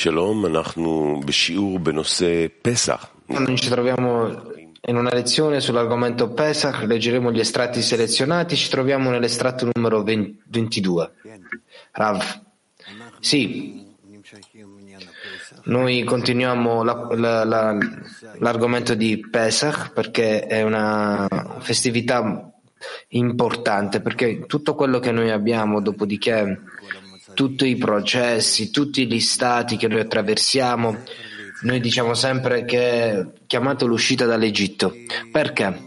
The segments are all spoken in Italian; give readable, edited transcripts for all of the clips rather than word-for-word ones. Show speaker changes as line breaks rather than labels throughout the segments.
Noi ci troviamo in una lezione sull'argomento Pesach, leggeremo gli estratti selezionati, ci troviamo nell'estratto numero 22. Rav. Sì, noi continuiamo l'argomento di Pesach perché è una festività importante, perché tutto quello che noi abbiamo, dopodiché tutti i processi, tutti gli stati che noi attraversiamo, noi diciamo sempre che è chiamato l'uscita dall'Egitto. Perché?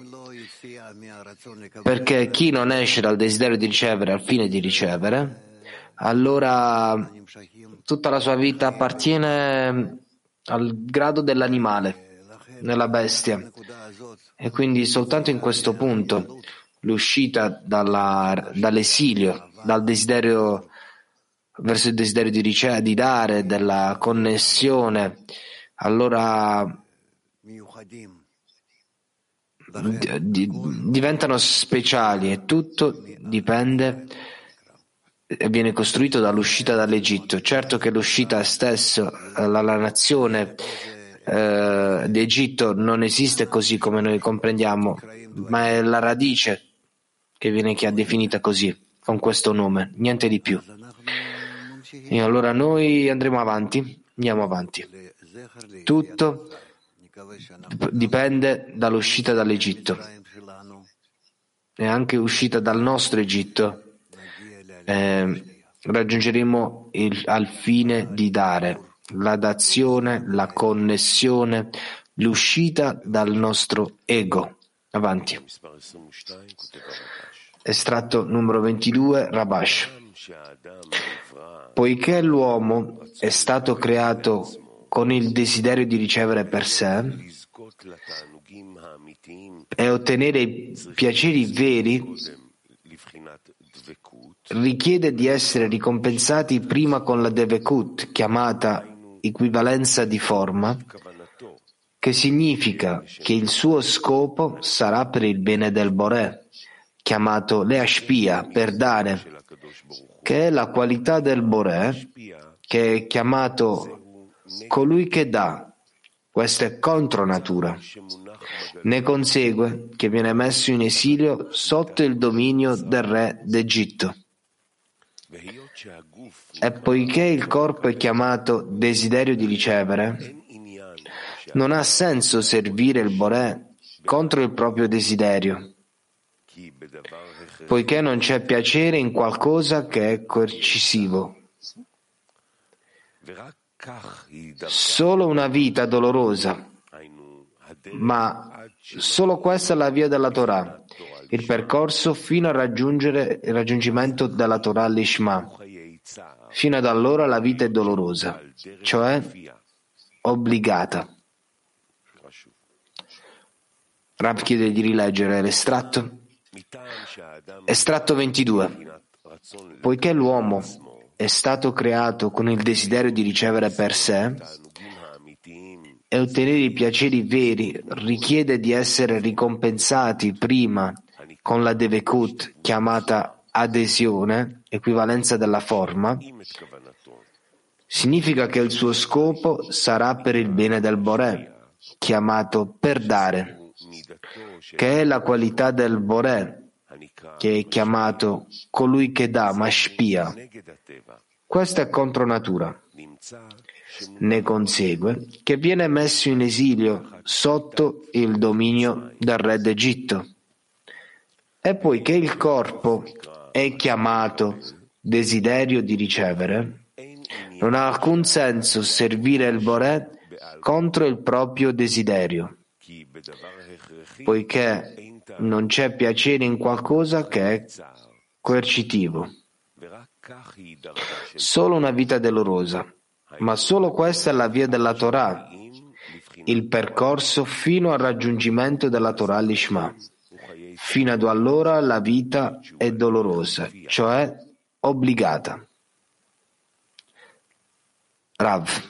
Perché chi non esce dal desiderio di ricevere al fine di ricevere, allora tutta la sua vita appartiene al grado dell'animale, nella bestia. E quindi soltanto in questo punto l'uscita dall'esilio, dal desiderio verso il desiderio di dare, della connessione, allora diventano speciali e tutto dipende e viene costruito dall'uscita dall'Egitto. Certo che l'uscita stesso, la nazione d'Egitto non esiste così come noi comprendiamo, ma è la radice che viene definita così, con questo nome, niente di più. E allora noi andiamo avanti. Tutto dipende dall'uscita dall'Egitto e anche uscita dal nostro Egitto. Raggiungeremo al fine di dare la dazione, la connessione, l'uscita dal nostro ego. Avanti. Estratto numero 22, Rabash. Poiché l'uomo è stato creato con il desiderio di ricevere per sé e ottenere i piaceri veri, richiede di essere ricompensati prima con la devekut, chiamata equivalenza di forma, che significa che il suo scopo sarà per il bene del Boré, chiamato leashpia, per dare, che è la qualità del Boré, che è chiamato colui che dà. Questa è contro natura. Ne consegue che viene messo in esilio sotto il dominio del re d'Egitto. E poiché il corpo è chiamato desiderio di ricevere, non ha senso servire il Boré contro il proprio desiderio, poiché non c'è piacere in qualcosa che è coercitivo. Solo una vita dolorosa, ma solo questa è la via della Torah, il percorso fino a raggiungere il raggiungimento della Torah Lishma. Fino ad allora la vita è dolorosa, cioè obbligata. Rav chiede di rileggere l'estratto. Estratto 22. Poiché l'uomo è stato creato con il desiderio di ricevere per sé e ottenere i piaceri veri, richiede di essere ricompensati prima con la devekut, chiamata adesione, equivalenza della forma, significa che il suo scopo sarà per il bene del Boré, chiamato per dare, che è la qualità del Boré, che è chiamato colui che dà, mashpia. Questa è contro natura. Ne consegue che viene messo in esilio sotto il dominio del re d'Egitto. E poiché il corpo è chiamato desiderio di ricevere, non ha alcun senso servire il Boré contro il proprio desiderio, poiché non c'è piacere in qualcosa che è coercitivo. Solo una vita dolorosa, ma solo questa è la via della Torah, il percorso fino al raggiungimento della Torah Lishma. Fino ad allora la vita è dolorosa, cioè obbligata. Rav.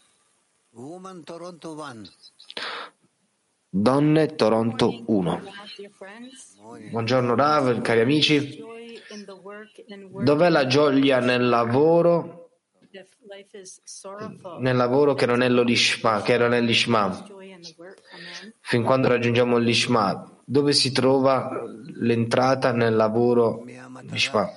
Donne Toronto 1. Buongiorno Rav, cari amici. Dov'è la gioia nel lavoro nel lavoro che non è l'Ishma, che non è l'Ishma. Fin quando raggiungiamo l'Ishma, dove si trova l'entrata nel lavoro Ishma?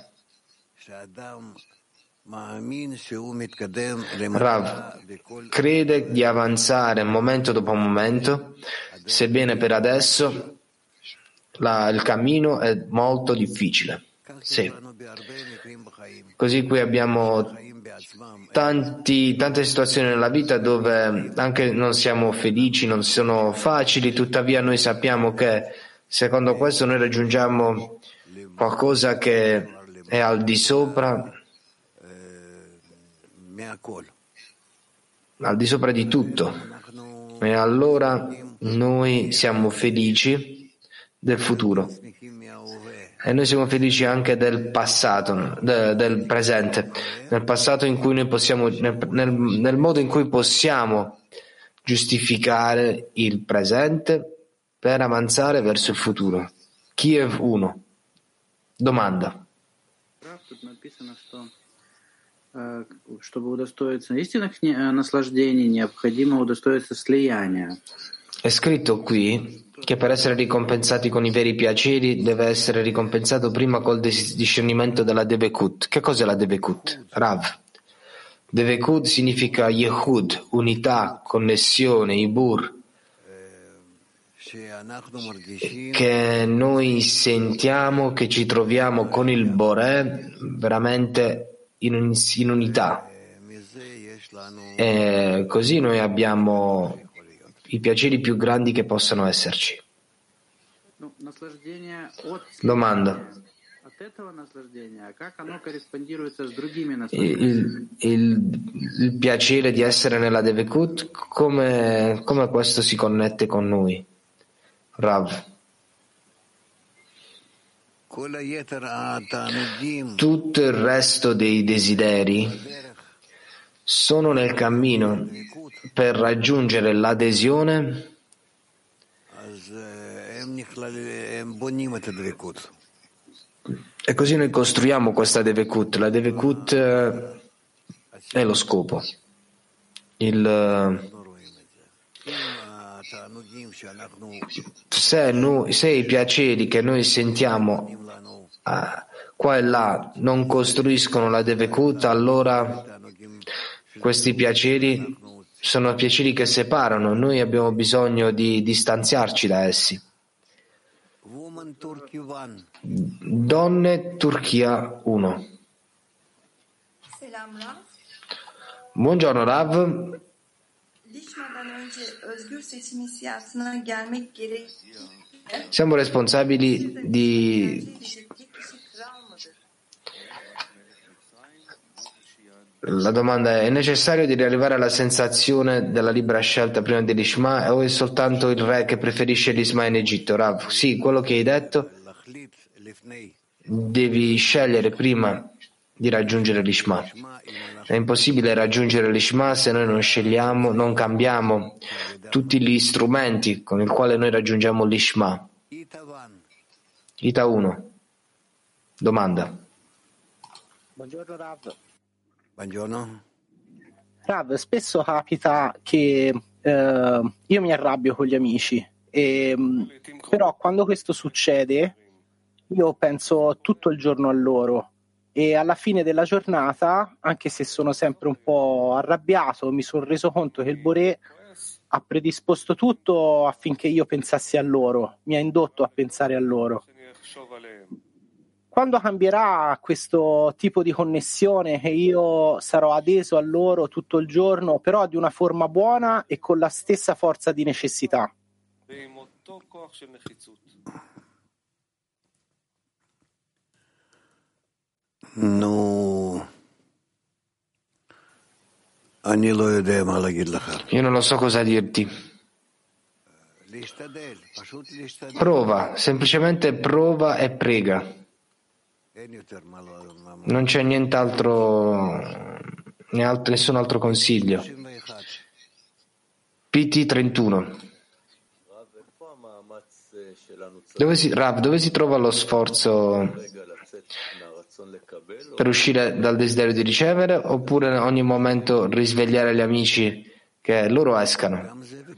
Rav crede di avanzare momento dopo momento, sebbene per adesso il cammino è molto difficile. Sì. Così qui abbiamo tante situazioni nella vita dove anche non siamo felici, non sono facili, tuttavia noi sappiamo che secondo questo noi raggiungiamo qualcosa che è al di sopra di tutto, e allora noi siamo felici del futuro e noi siamo felici anche del passato, del presente, nel passato in cui noi possiamo, nel modo in cui possiamo giustificare il presente per avanzare verso il futuro. Kiev 1. Domanda.
Чтобы удостоиться истинных наслаждений, необходимо удостоиться слияния.
È scritto qui che per essere ricompensati con i veri piaceri deve essere ricompensato prima col discernimento della Devekut. Che cos'è la Devekut? Rav. Devekut significa Yehud, unità, connessione, Ibur, che noi sentiamo che ci troviamo con il Boré veramente in unità, e così noi abbiamo i piaceri più grandi che possano esserci. Domanda. Il piacere di essere nella Devekut, come questo si connette con noi? Rav. Tutto il resto dei desideri sono nel cammino per raggiungere l'adesione e così noi costruiamo questa Devekut. La Devekut è lo scopo. Se i piaceri che noi sentiamo qua e là non costruiscono la Devekut, allora questi piaceri sono piaceri che separano, noi abbiamo bisogno di distanziarci da essi. Donne Turchia 1. Buongiorno Rav. Siamo responsabili La domanda è necessario di arrivare alla sensazione della libera scelta prima dell'Ishma o è soltanto il re che preferisce l'Ishma in Egitto? Rav, sì, quello che hai detto, devi scegliere prima di raggiungere l'Ishma. È impossibile raggiungere l'Ishma se noi non scegliamo, non cambiamo tutti gli strumenti con i quali noi raggiungiamo l'Ishma. Ita 1. Domanda.
Buongiorno Rav.
Buongiorno.
Rav, spesso capita che io mi arrabbio con gli amici, però quando questo succede io penso tutto il giorno a loro e alla fine della giornata, anche se sono sempre un po' arrabbiato, mi sono reso conto che il Boré ha predisposto tutto affinché io pensassi a loro, mi ha indotto a pensare a loro. Quando cambierà questo tipo di connessione che io sarò adeso a loro tutto il giorno, però di una forma buona e con la stessa forza di necessità?
No.
Io non lo so cosa dirti. Prova, semplicemente prova e prega. Non c'è nient'altro, nessun altro consiglio. PT 31. Dove si trova lo sforzo per uscire dal desiderio di ricevere, oppure in ogni momento risvegliare gli amici che loro escano?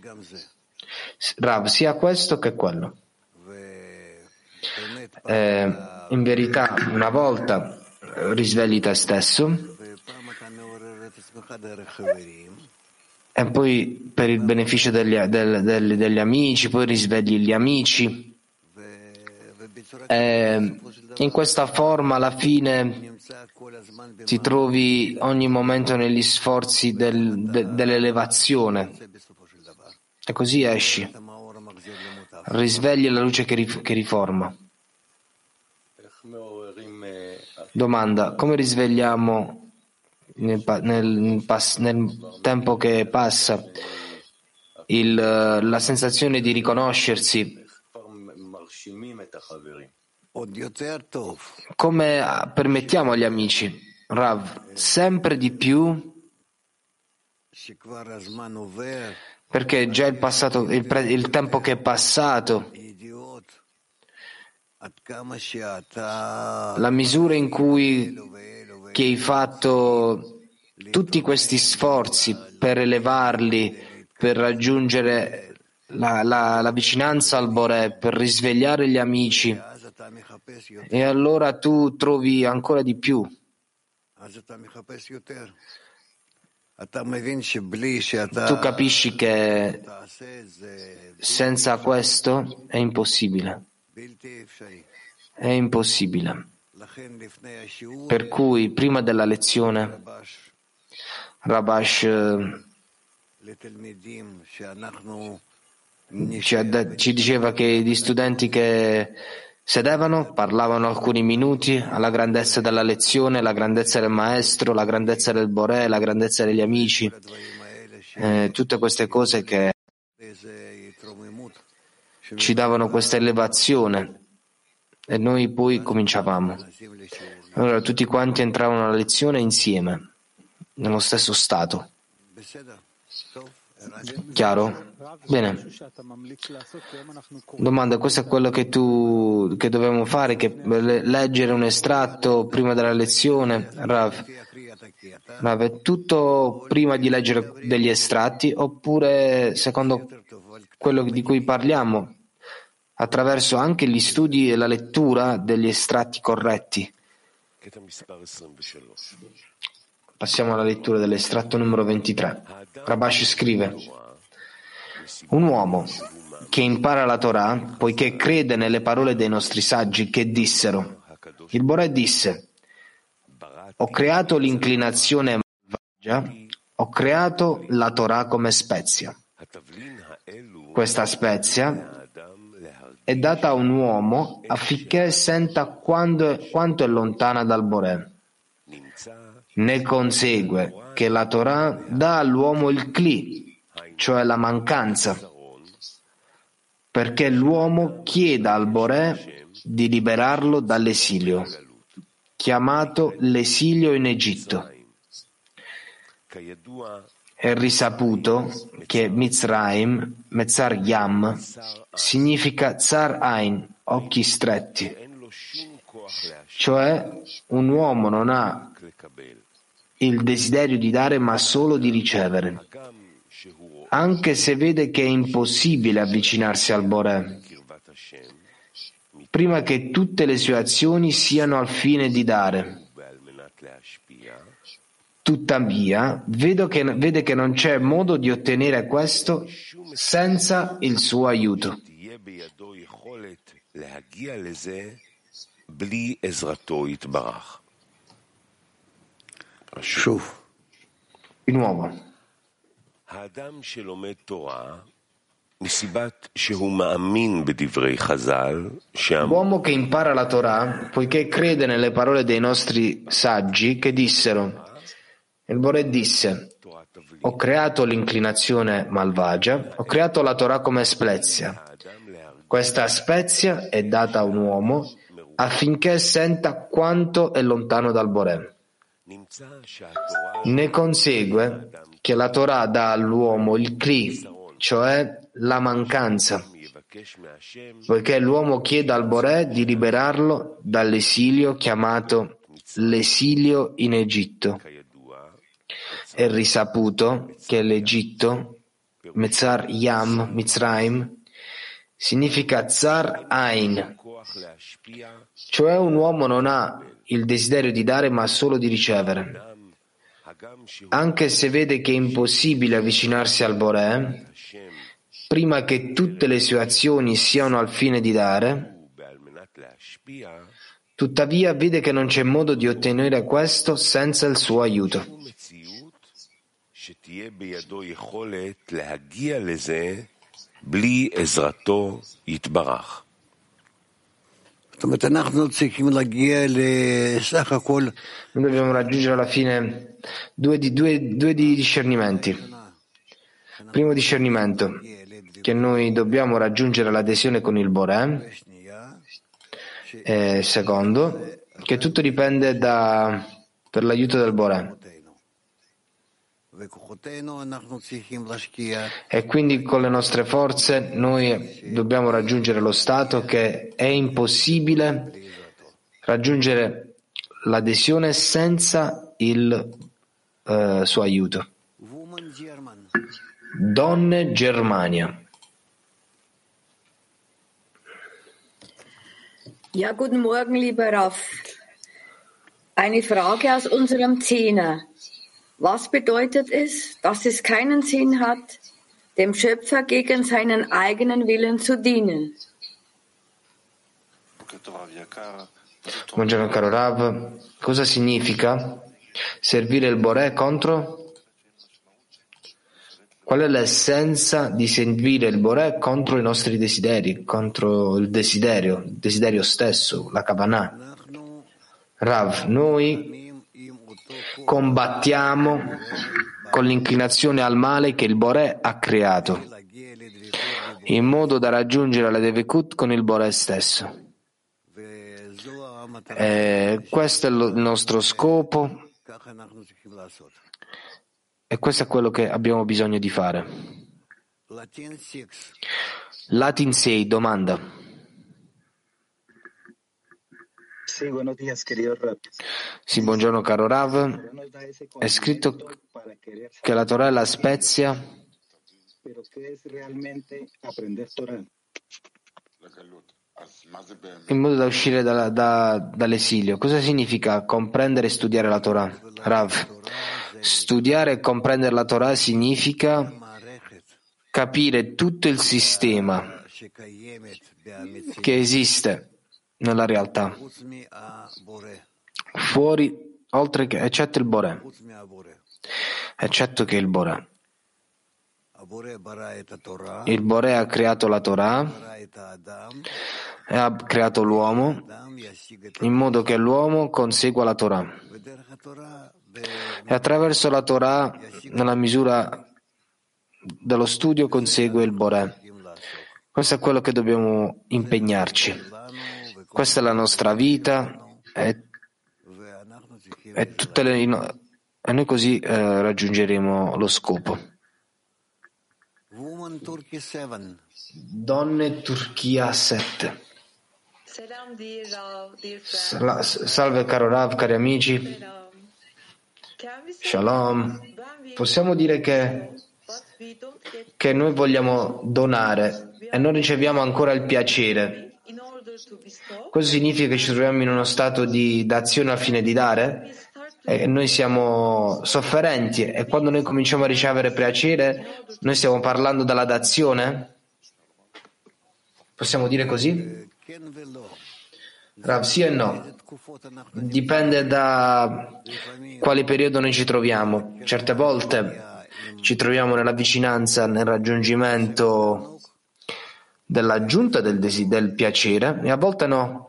Rav, sia questo che quello. In verità, una volta risvegli te stesso e poi per il beneficio degli amici, poi risvegli gli amici. In questa forma alla fine ti trovi ogni momento negli sforzi dell'elevazione e così esci, risvegli la luce che riforma. Domanda: come risvegliamo nel tempo che passa la sensazione di riconoscersi? Come permettiamo agli amici, Rav, sempre di più, perché già il passato, il tempo che è passato, la misura in cui che hai fatto tutti questi sforzi per elevarli, per raggiungere la vicinanza al Boré, per risvegliare gli amici, e allora tu trovi ancora di più. Tu capisci che senza questo è impossibile. È impossibile. Per cui prima della lezione Rabash ci diceva che gli studenti che sedevano parlavano alcuni minuti alla grandezza della lezione, la grandezza del maestro, la grandezza del Boré, la grandezza degli amici, tutte queste cose che ci davano questa elevazione, e noi poi cominciavamo. Allora tutti quanti entravano alla lezione insieme, nello stesso stato. Chiaro? Bene. Domanda: questo è quello che dobbiamo fare, che leggere un estratto prima della lezione? Rav, è tutto prima di leggere degli estratti, oppure secondo quello di cui parliamo, attraverso anche gli studi e la lettura degli estratti corretti? Passiamo alla lettura dell'estratto numero 23. Rabash scrive: un uomo che impara la Torah poiché crede nelle parole dei nostri saggi che dissero: il Boré disse, ho creato l'inclinazione malvagia, ho creato la Torah come spezia. Questa spezia è data a un uomo affinché senta quanto è lontana dal Boré. Ne consegue che la Torah dà all'uomo il Kli, cioè la mancanza, perché l'uomo chieda al Boré di liberarlo dall'esilio, chiamato l'esilio in Egitto. È risaputo che Mitzrayim, Metzar Yam, significa Tsar Ain, occhi stretti, cioè un uomo non ha il desiderio di dare ma solo di ricevere, anche se vede che è impossibile avvicinarsi al Boré, prima che tutte le sue azioni siano al fine di dare. Tuttavia, vede che non c'è modo di ottenere questo senza il suo aiuto. Di nuovo, l'uomo che impara la Torah poiché crede nelle parole dei nostri saggi che dissero: il Boré disse, ho creato l'inclinazione malvagia, ho creato la Torah come spezia. Questa spezia è data a un uomo affinché senta quanto è lontano dal Boré. Ne consegue che la Torah dà all'uomo il Kli, cioè la mancanza, poiché l'uomo chiede al Boré di liberarlo dall'esilio chiamato l'esilio in Egitto. È risaputo che l'Egitto, Metzar Yam, Mitzrayim, significa Tsar Ain, cioè un uomo non ha il desiderio di dare ma solo di ricevere. Anche se vede che è impossibile avvicinarsi al Boré, prima che tutte le sue azioni siano al fine di dare, tuttavia vede che non c'è modo di ottenere questo senza il suo aiuto.
Noi
dobbiamo raggiungere alla fine due discernimenti. Primo discernimento, che noi dobbiamo raggiungere l'adesione con il Boré. E secondo, che tutto dipende per l'aiuto del Boré. E quindi con le nostre forze noi dobbiamo raggiungere lo stato che è impossibile raggiungere l'adesione senza il suo aiuto. Donne Germania.
Ja, guten Morgen, lieber Rav. Eine Frage aus unserem Zehner. Was bedeutet es, dass es keinen Sinn hat, dem Schöpfer gegen seinen eigenen Willen zu dienen?
Buongiorno caro Rav, cosa significa servire il Boré contro? Qual è l'essenza di servire il Boré contro i nostri desideri, contro il desiderio stesso, la Kavanah? Rav, noi combattiamo con l'inclinazione al male che il Boré ha creato, in modo da raggiungere la Devekut con il Boré stesso. Questo è il nostro scopo e questo è quello che abbiamo bisogno di fare. Latin 6, domanda. Sì, buongiorno caro Rav. È scritto che la Torah è la spezia. In modo da uscire dall'esilio. Cosa significa comprendere e studiare la Torah? Rav, studiare e comprendere la Torah significa capire tutto il sistema che esiste nella realtà, fuori, oltre che, eccetto il Boré, eccetto che il Boré. Il Boré ha creato la Torah e ha creato l'uomo in modo che l'uomo consegua la Torah. E attraverso la Torah, nella misura dello studio, consegue il Boré. Questo è quello che dobbiamo impegnarci. Questa è la nostra vita e noi così raggiungeremo lo scopo. Donne Turchia 7. Salve caro Rav, cari amici. Shalom. Possiamo dire che noi vogliamo donare e non riceviamo ancora il piacere. Questo significa che ci troviamo in uno stato di d'azione al fine di dare e noi siamo sofferenti e quando noi cominciamo a ricevere piacere noi stiamo parlando della dazione? Possiamo dire così? Rav, sì e no. Dipende da quale periodo noi ci troviamo. Certe volte ci troviamo nella vicinanza, nel raggiungimento dell'aggiunta del piacere e a volte no.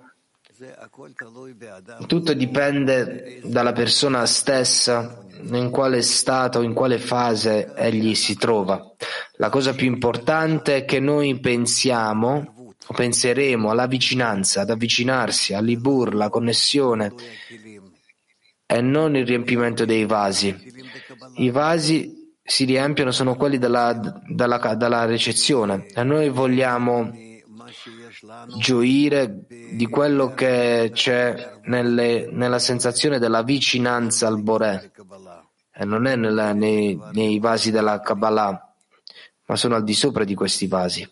Tutto dipende dalla persona stessa, in quale stato, in quale fase egli si trova. La cosa più importante è che noi penseremo alla vicinanza, ad avvicinarsi, all'ibur, la connessione e non il riempimento dei vasi. I vasi si riempiono, sono quelli dalla ricezione e noi vogliamo gioire di quello che c'è nella sensazione della vicinanza al Boré, e non è nei vasi della Kabbalah, ma sono al di sopra di questi vasi.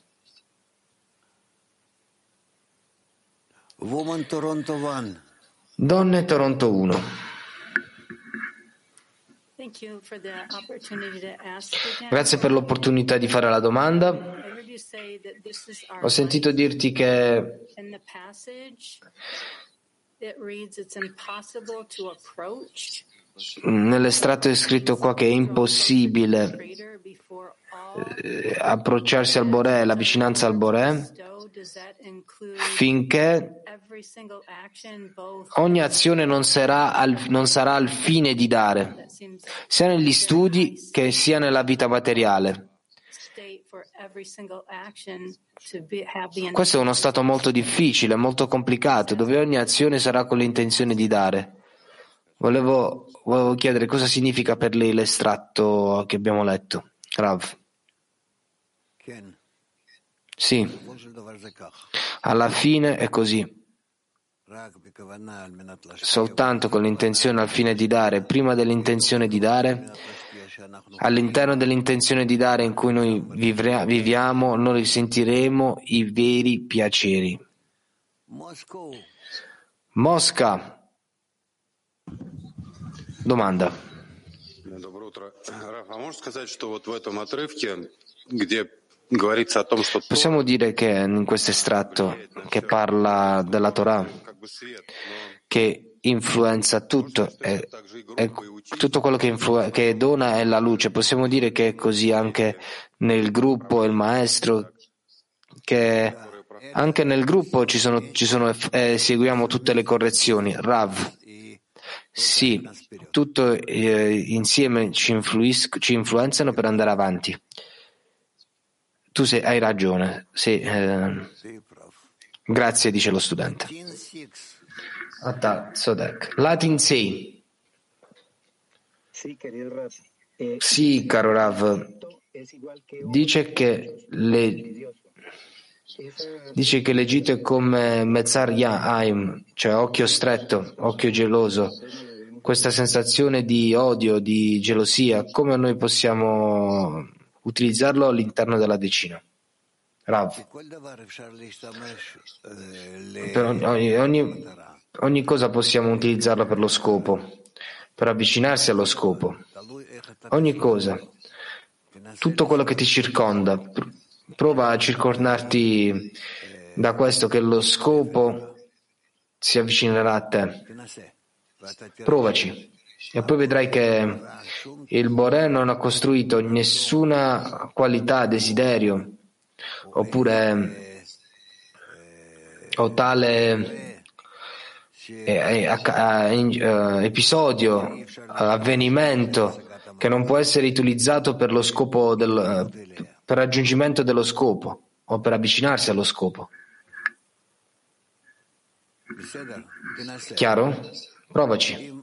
Donne Toronto 1. Grazie per l'opportunità di fare la domanda. Ho sentito dirti che nell'estratto è scritto qua che è impossibile approcciarsi al Boré, la vicinanza al Boré, finché ogni azione non sarà al fine di dare, sia negli studi che sia nella vita materiale. Questo è uno stato molto difficile, molto complicato, dove ogni azione sarà con l'intenzione di dare. Volevo chiedere cosa significa per lei l'estratto che abbiamo letto. Rav. Sì, alla fine è così. Soltanto con l'intenzione al fine di dare, prima dell'intenzione di dare, all'interno dell'intenzione di dare in cui noi viviamo, noi sentiremo i veri piaceri. Mosca. Domanda. Possiamo dire che in questo estratto che parla della Torah, che influenza tutto, e tutto quello che dona è la luce, possiamo dire che è così anche nel gruppo, il maestro, che anche nel gruppo seguiamo tutte le correzioni. Rav. Sì, tutto insieme ci influenzano per andare avanti. Tu hai ragione. Sì, grazie, dice lo studente. Latin 6. Sì, caro Rav. Dice che l'Egitto è come Metzar Ya'aim, cioè occhio stretto, occhio geloso. Questa sensazione di odio, di gelosia, come noi possiamo utilizzarlo all'interno della decina? Rav. Per ogni cosa possiamo utilizzarla per lo scopo, per avvicinarsi allo scopo. Ogni cosa. Tutto quello che ti circonda. Prova a circondarti da questo, che lo scopo si avvicinerà a te. Provaci. E poi vedrai che il Boré non ha costruito nessuna qualità, desiderio, oppure o tale episodio, avvenimento che non può essere utilizzato per lo scopo per raggiungimento dello scopo o per avvicinarsi allo scopo. Chiaro? Provaci.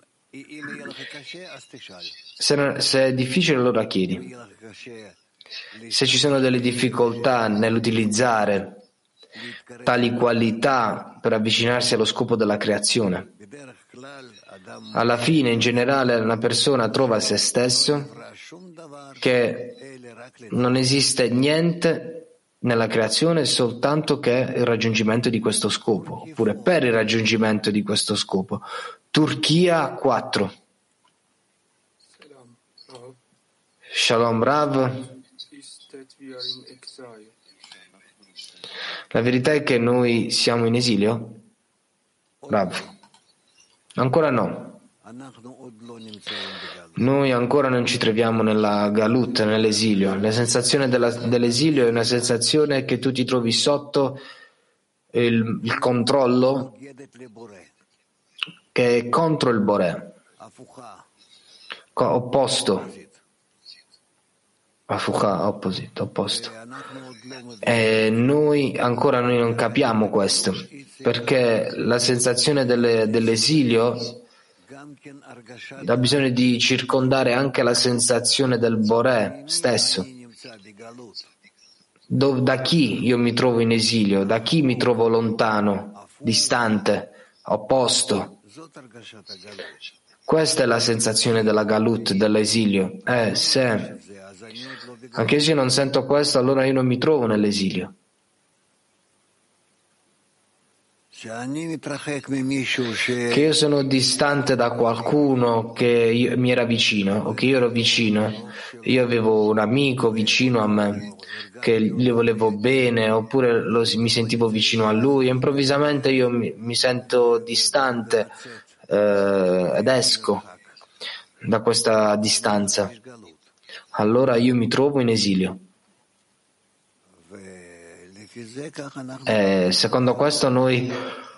Se è difficile, allora chiedi. Se ci sono delle difficoltà nell'utilizzare tali qualità per avvicinarsi allo scopo della creazione, alla fine, in generale, una persona trova se stesso che non esiste niente nella creazione soltanto che il raggiungimento di questo scopo, oppure per il raggiungimento di questo scopo. Turchia 4. Shalom Rav. La verità è che noi siamo in esilio? Rav. Ancora no. Noi ancora non ci troviamo nella galut, nell'esilio. La sensazione dell'esilio è una sensazione che tu ti trovi sotto il controllo che è contro il Boré, opposto. Opposto. E noi non capiamo questo, perché la sensazione dell'esilio ha bisogno di circondare anche la sensazione del Boré stesso, Da chi io mi trovo in esilio? Da chi mi trovo lontano, distante, opposto? Questa è la sensazione della galut, dell'esilio. Se anche se io non sento questo, allora io non mi trovo nell'esilio. Che io sono distante da qualcuno che mi era vicino o che io ero vicino, io avevo un amico vicino a me che gli volevo bene oppure mi sentivo vicino a lui e improvvisamente io mi sento distante ed esco da questa distanza, allora io mi trovo in esilio. Secondo questo noi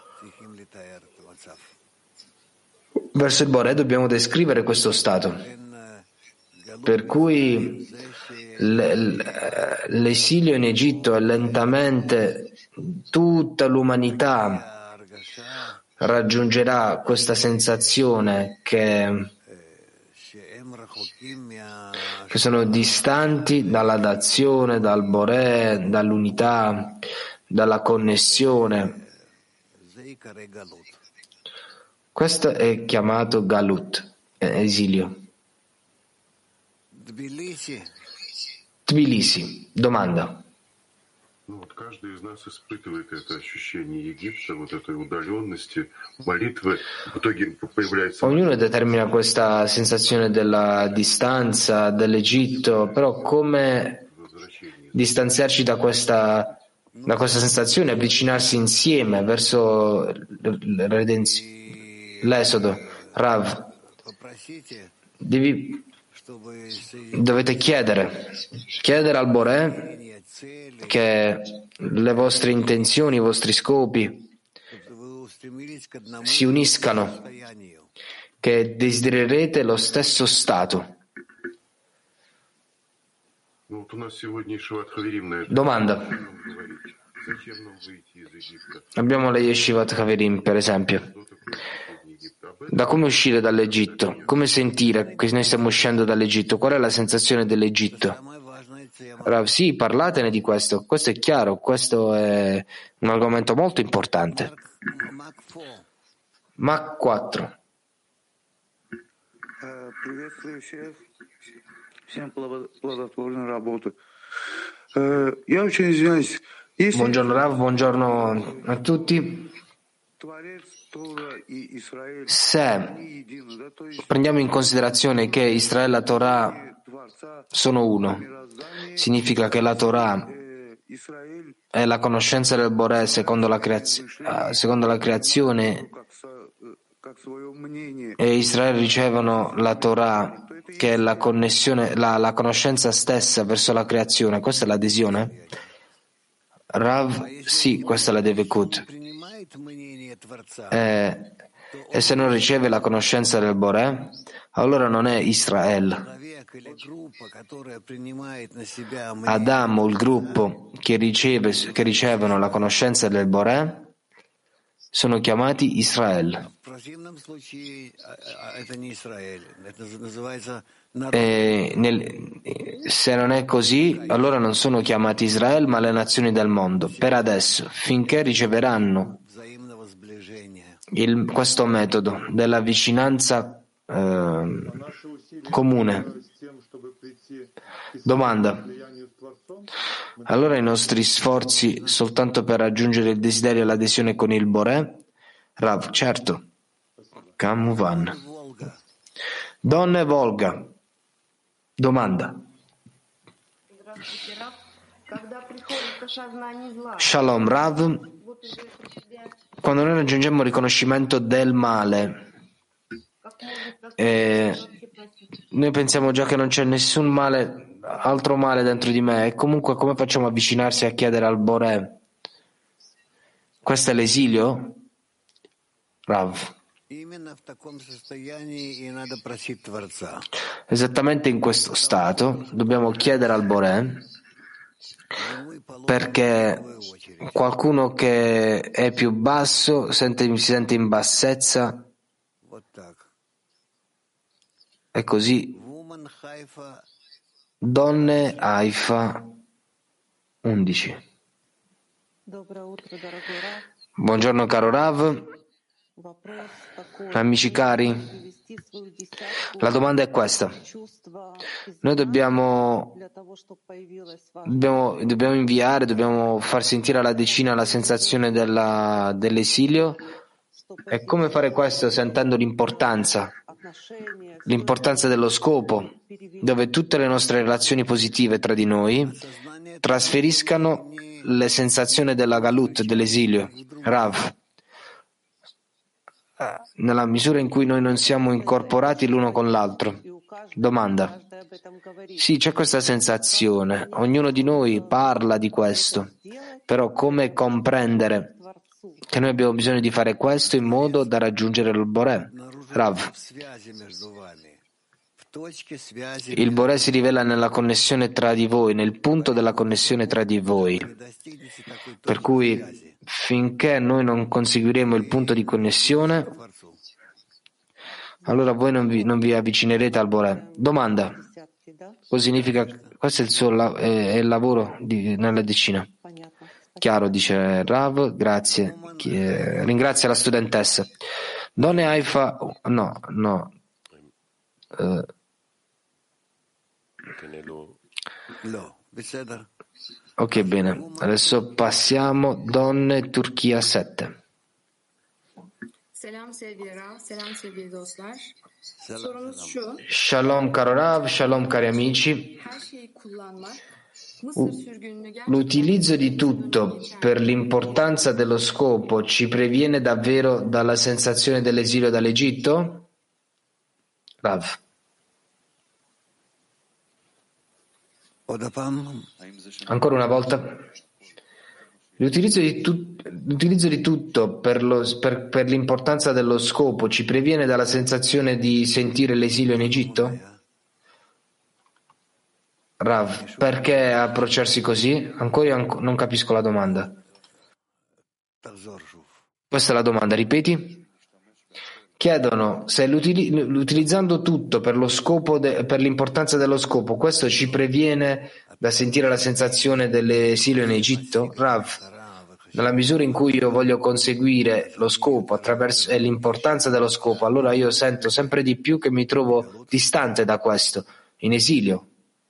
verso il Boré dobbiamo descrivere questo stato, per cui l'esilio in Egitto è lentamente tutta l'umanità raggiungerà questa sensazione che sono distanti dalla dazione, dal Boré, dall'unità, dalla connessione. Questo è chiamato Galut, esilio. Tbilisi, domanda.
Каждый из нас испытывает это ощущение Египта, вот этой удаленности, молитвы. В итоге появляется...
Ognuno determina questa sensazione della distanza dell'Egitto, però come distanziarci da questa sensazione, avvicinarsi insieme verso l'esodo? Rav, dovete chiedere al Boré che le vostre intenzioni, i vostri scopi si uniscano, che desidererete lo stesso stato. Domanda. Abbiamo le Yeshivat Haverim, per esempio. Da come uscire dall'Egitto? Come sentire che noi stiamo uscendo dall'Egitto? Qual è la sensazione dell'Egitto? Rav, sì, parlatene di questo. Questo è chiaro, questo è un argomento molto importante. Mach 4. Buongiorno Rav, buongiorno a tutti. Se prendiamo in considerazione che Israele e la Torah sono uno, significa che la Torah è la conoscenza del Boré secondo la creazione e Israele ricevono la Torah che è la connessione, la conoscenza stessa verso la creazione. Questa è l'adesione? Rav, sì, questa è la Devekut. E se non riceve la conoscenza del Boré, allora non è Israele. Adamo, il gruppo che ricevono la conoscenza del Boré, sono chiamati Israele. Se non è così, allora non sono chiamati Israele, ma le nazioni del mondo. Per adesso, finché riceveranno questo metodo della vicinanza comune. Domanda. Allora i nostri sforzi soltanto per raggiungere il desiderio e l'adesione con il Boré? Rav, certo. Kamuvan. Donne Volga. Domanda. Shalom Rav. Quando noi raggiungiamo il riconoscimento del male, noi pensiamo già che non c'è nessun male, altro male dentro di me, e comunque come facciamo a avvicinarsi a chiedere al Boré? Questo è l'esilio? Rav. Esattamente in questo stato dobbiamo chiedere al Boré, perché qualcuno che è più basso si sente in bassezza, e così donne Haifa 11. Buongiorno caro Rav, amici cari, la domanda è questa. Noi dobbiamo inviare, dobbiamo far sentire alla decina la sensazione dell'esilio, e come fare questo sentendo l'importanza dello scopo, dove tutte le nostre relazioni positive tra di noi trasferiscano le sensazioni della galut, dell'esilio. Rav, nella misura in cui noi non siamo incorporati l'uno con l'altro. Domanda. Sì, c'è questa sensazione, ognuno di noi parla di questo, però come comprendere che noi abbiamo bisogno di fare questo in modo da raggiungere il Boré? Rav, il Boré si rivela nella connessione tra di voi, nel punto della connessione tra di voi, per cui finché noi non conseguiremo il punto di connessione, allora voi non vi avvicinerete al Boré. Domanda. Cosa significa? Questo è il lavoro nella decina. Chiaro, dice Rav, grazie. Ringrazia la studentessa. Donne Haifa, no. Ok, bene. Adesso passiamo Donne Turchia 7.
Selam sevgili Rav, selam sevgili dostlar. Sorumuz şu.
Shalom caro Rav, shalom cari amici.
Her şeyi kullanmak, Mısır sürgününü gerçekten
L'utilizzo di tutto per l'importanza dello scopo ci previene davvero dalla sensazione dell'esilio dall'Egitto? Rav. Ancora una volta. L'utilizzo di tutto per l'importanza dello scopo ci previene dalla sensazione di sentire l'esilio in Egitto? Rav, perché approcciarsi così? Ancora non capisco la domanda. Questa è la domanda, ripeti? Chiedono se utilizzando tutto per lo scopo per l'importanza dello scopo, questo ci previene da sentire la sensazione dell'esilio in Egitto? Rav, nella misura in cui io voglio conseguire lo scopo attraverso l'importanza dello scopo, allora io sento sempre di più che mi trovo distante da questo, in esilio.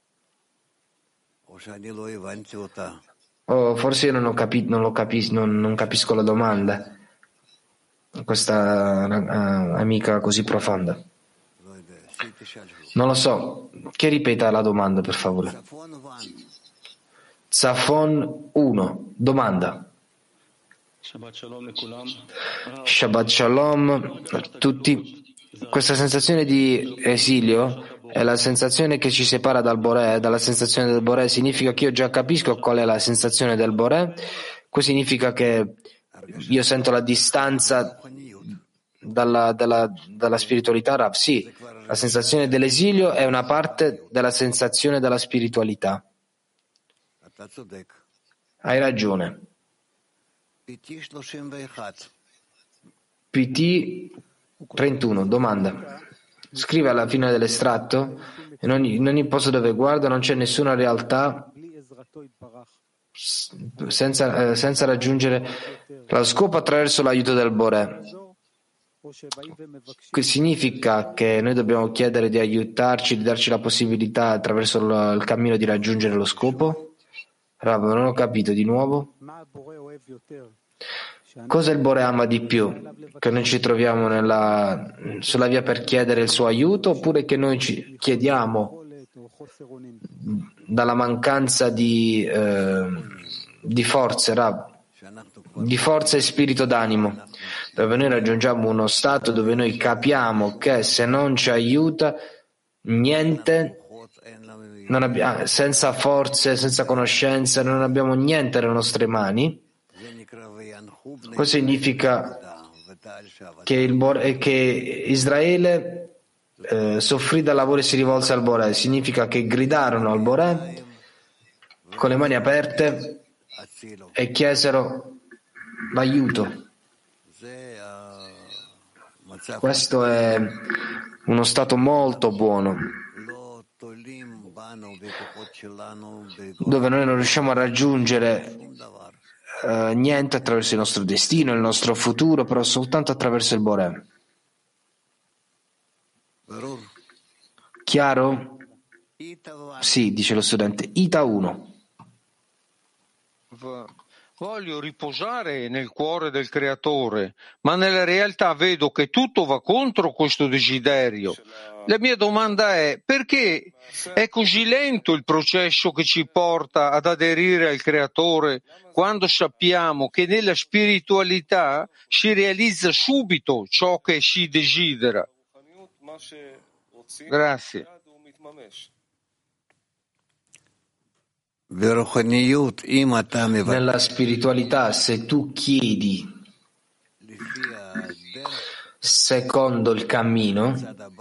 Forse io non capisco la domanda. Questa amica così profonda. Non lo so. Che ripeta la domanda, per favore. Zafon 1. Domanda. Shabbat Shalom a tutti. Questa sensazione di esilio è la sensazione che ci separa dal Boré. Dalla sensazione del Boré significa che io già capisco qual è la sensazione del Boré. Questo significa che io sento la distanza dalla spiritualità, Rav. Sì, la sensazione dell'esilio è una parte della sensazione della spiritualità. Hai ragione. PT 31, domanda. Scrive alla fine dell'estratto: in ogni posto dove guardo non c'è nessuna realtà senza raggiungere lo scopo attraverso l'aiuto del Boré. Che significa che noi dobbiamo chiedere di aiutarci, di darci la possibilità attraverso il cammino di raggiungere lo scopo? Rav, non ho capito di nuovo. Cosa il Boré ama di più? Che noi ci troviamo sulla via per chiedere il suo aiuto, oppure che noi ci chiediamo dalla mancanza di forze, Rav, di forza e spirito d'animo, dove noi raggiungiamo uno stato dove noi capiamo che se non ci aiuta niente, senza forze, senza conoscenza, non abbiamo niente nelle nostre mani. Questo significa che Israele soffrì dal lavoro e si rivolse al Boré. Significa che gridarono al Boré con le mani aperte e chiesero l'aiuto. Questo è uno stato molto buono. dove noi non riusciamo a raggiungere niente attraverso il nostro destino, il nostro futuro, però soltanto attraverso il Boré. Chiaro? Sì, dice lo studente. Ita 1.
Voglio riposare nel cuore del Creatore, ma nella realtà vedo che tutto va contro questo desiderio. La mia domanda è: perché è così lento il processo che ci porta ad aderire al Creatore quando sappiamo che nella spiritualità si realizza subito ciò che si desidera? Grazie.
Nella spiritualità, se tu chiedi secondo il cammino,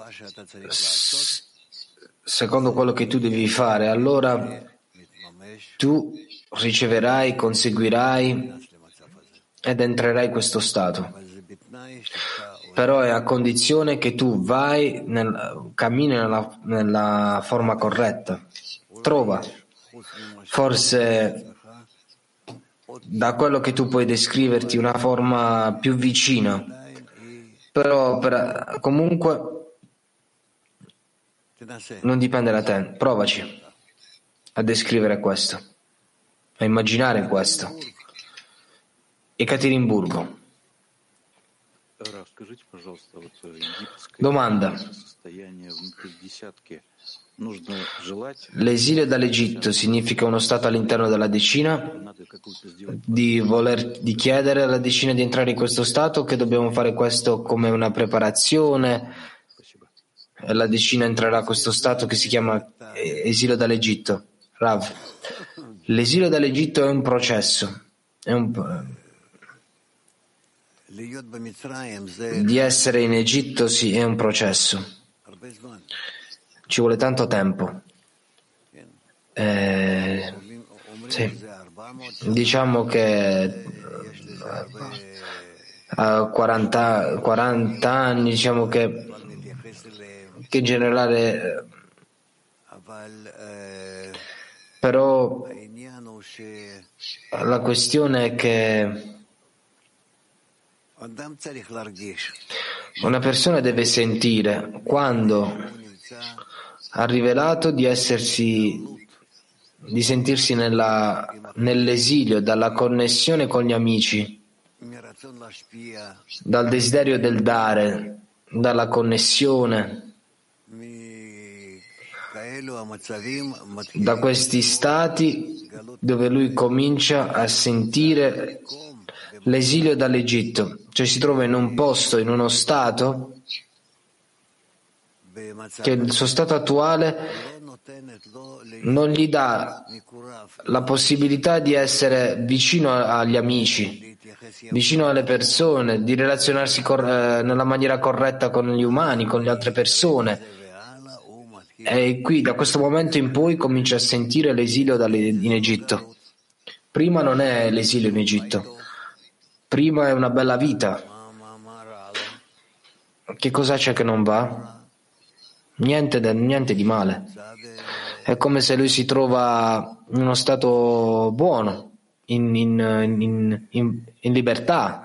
secondo quello che tu devi fare, allora tu riceverai, conseguirai ed entrerai in questo stato. Però è a condizione che tu cammini nella forma corretta. Trova. Forse da quello che tu puoi descriverti una forma più vicina, però comunque non dipende da te. Provaci a descrivere questo, a immaginare questo. Ekaterinburgo. Domanda. L'esilio dall'Egitto significa uno stato all'interno della decina, di chiedere alla decina di entrare in questo stato, che dobbiamo fare questo come una preparazione e la decina entrerà a questo stato che si chiama esilio dall'Egitto. Rav, l'esilio dall'Egitto è un processo, di essere in Egitto sì, è un processo. Ci vuole tanto tempo. Sì. Diciamo che a 40 anni, diciamo che in generale, però la questione è che una persona deve sentire quando ha rivelato di sentirsi nell'esilio, dalla connessione con gli amici, dal desiderio del dare, dalla connessione, da questi stati dove lui comincia a sentire l'esilio dall'Egitto, cioè si trova in un posto, in uno stato che il suo stato attuale non gli dà la possibilità di essere vicino agli amici, vicino alle persone, di relazionarsi nella maniera corretta con gli umani, con le altre persone. E qui, da questo momento in poi, comincia a sentire l'esilio in Egitto. Prima non è l'esilio in Egitto, prima è una bella vita. Che cosa c'è che non va? Niente di male. È come se lui si trova in uno stato buono, in libertà,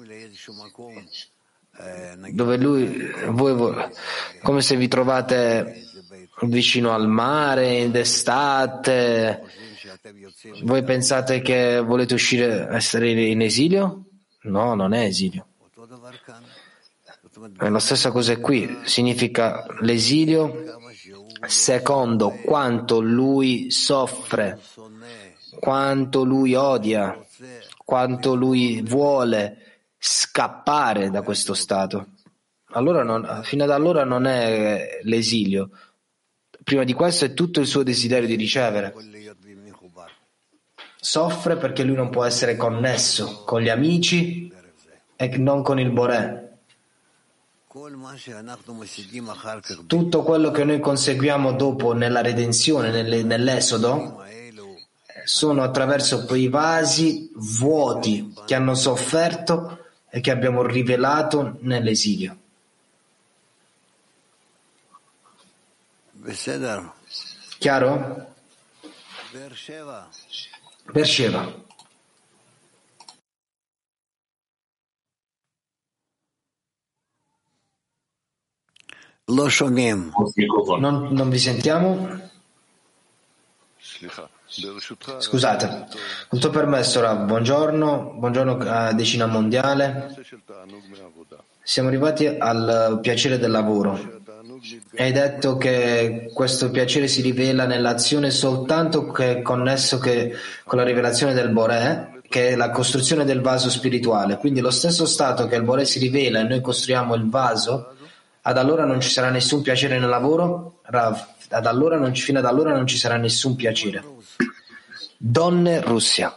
dove come se vi trovate vicino al mare d'estate. Voi pensate che volete essere in esilio? No, non è esilio. È la stessa cosa qui, significa l'esilio secondo quanto lui soffre, quanto lui odia, quanto lui vuole scappare da questo stato. Allora fino ad allora non è l'esilio. Prima di questo è tutto il suo desiderio di ricevere. Soffre perché lui non può essere connesso con gli amici e non con il Boré. Tutto quello che noi conseguiamo dopo nella redenzione, nell'esodo, sono attraverso quei vasi vuoti che hanno sofferto e che abbiamo rivelato nell'esilio. Chiaro? Beersheba. Non vi sentiamo? Scusate, con tuo permesso, Rav, buongiorno Decina Mondiale. Siamo arrivati al piacere del lavoro. Hai detto che questo piacere si rivela nell'azione soltanto che è connesso con la rivelazione del Boré, che è la costruzione del vaso spirituale. Quindi lo stesso stato che il Boré si rivela e noi costruiamo il vaso, ad allora non ci sarà nessun piacere nel lavoro? Rav, fino ad allora non ci sarà nessun piacere. Donne, Russia.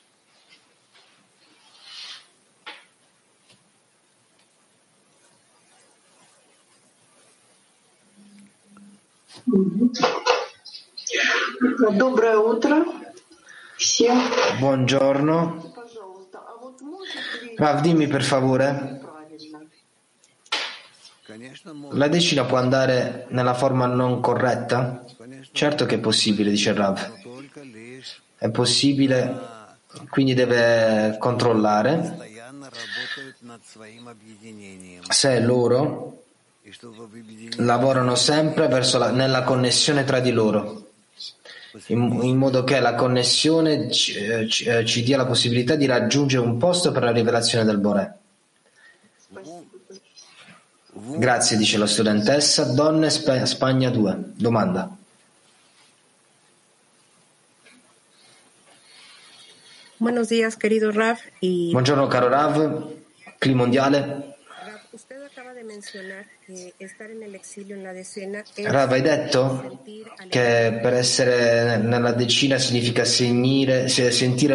Доброе утро всем.
Buongiorno. Rav, dimmi per favore, la decina può andare nella forma non corretta? Certo che è possibile, dice Rav. È possibile, quindi deve controllare se loro lavorano sempre nella connessione tra di loro, in modo che la connessione ci dia la possibilità di raggiungere un posto per la rivelazione del Boré. Grazie, dice la studentessa. Donne, Spagna 2. Domanda.
Buenos días, querido Rav.
Buongiorno, caro Rav. Clima mondiale. Rav, hai detto che per essere nella decina significa sentire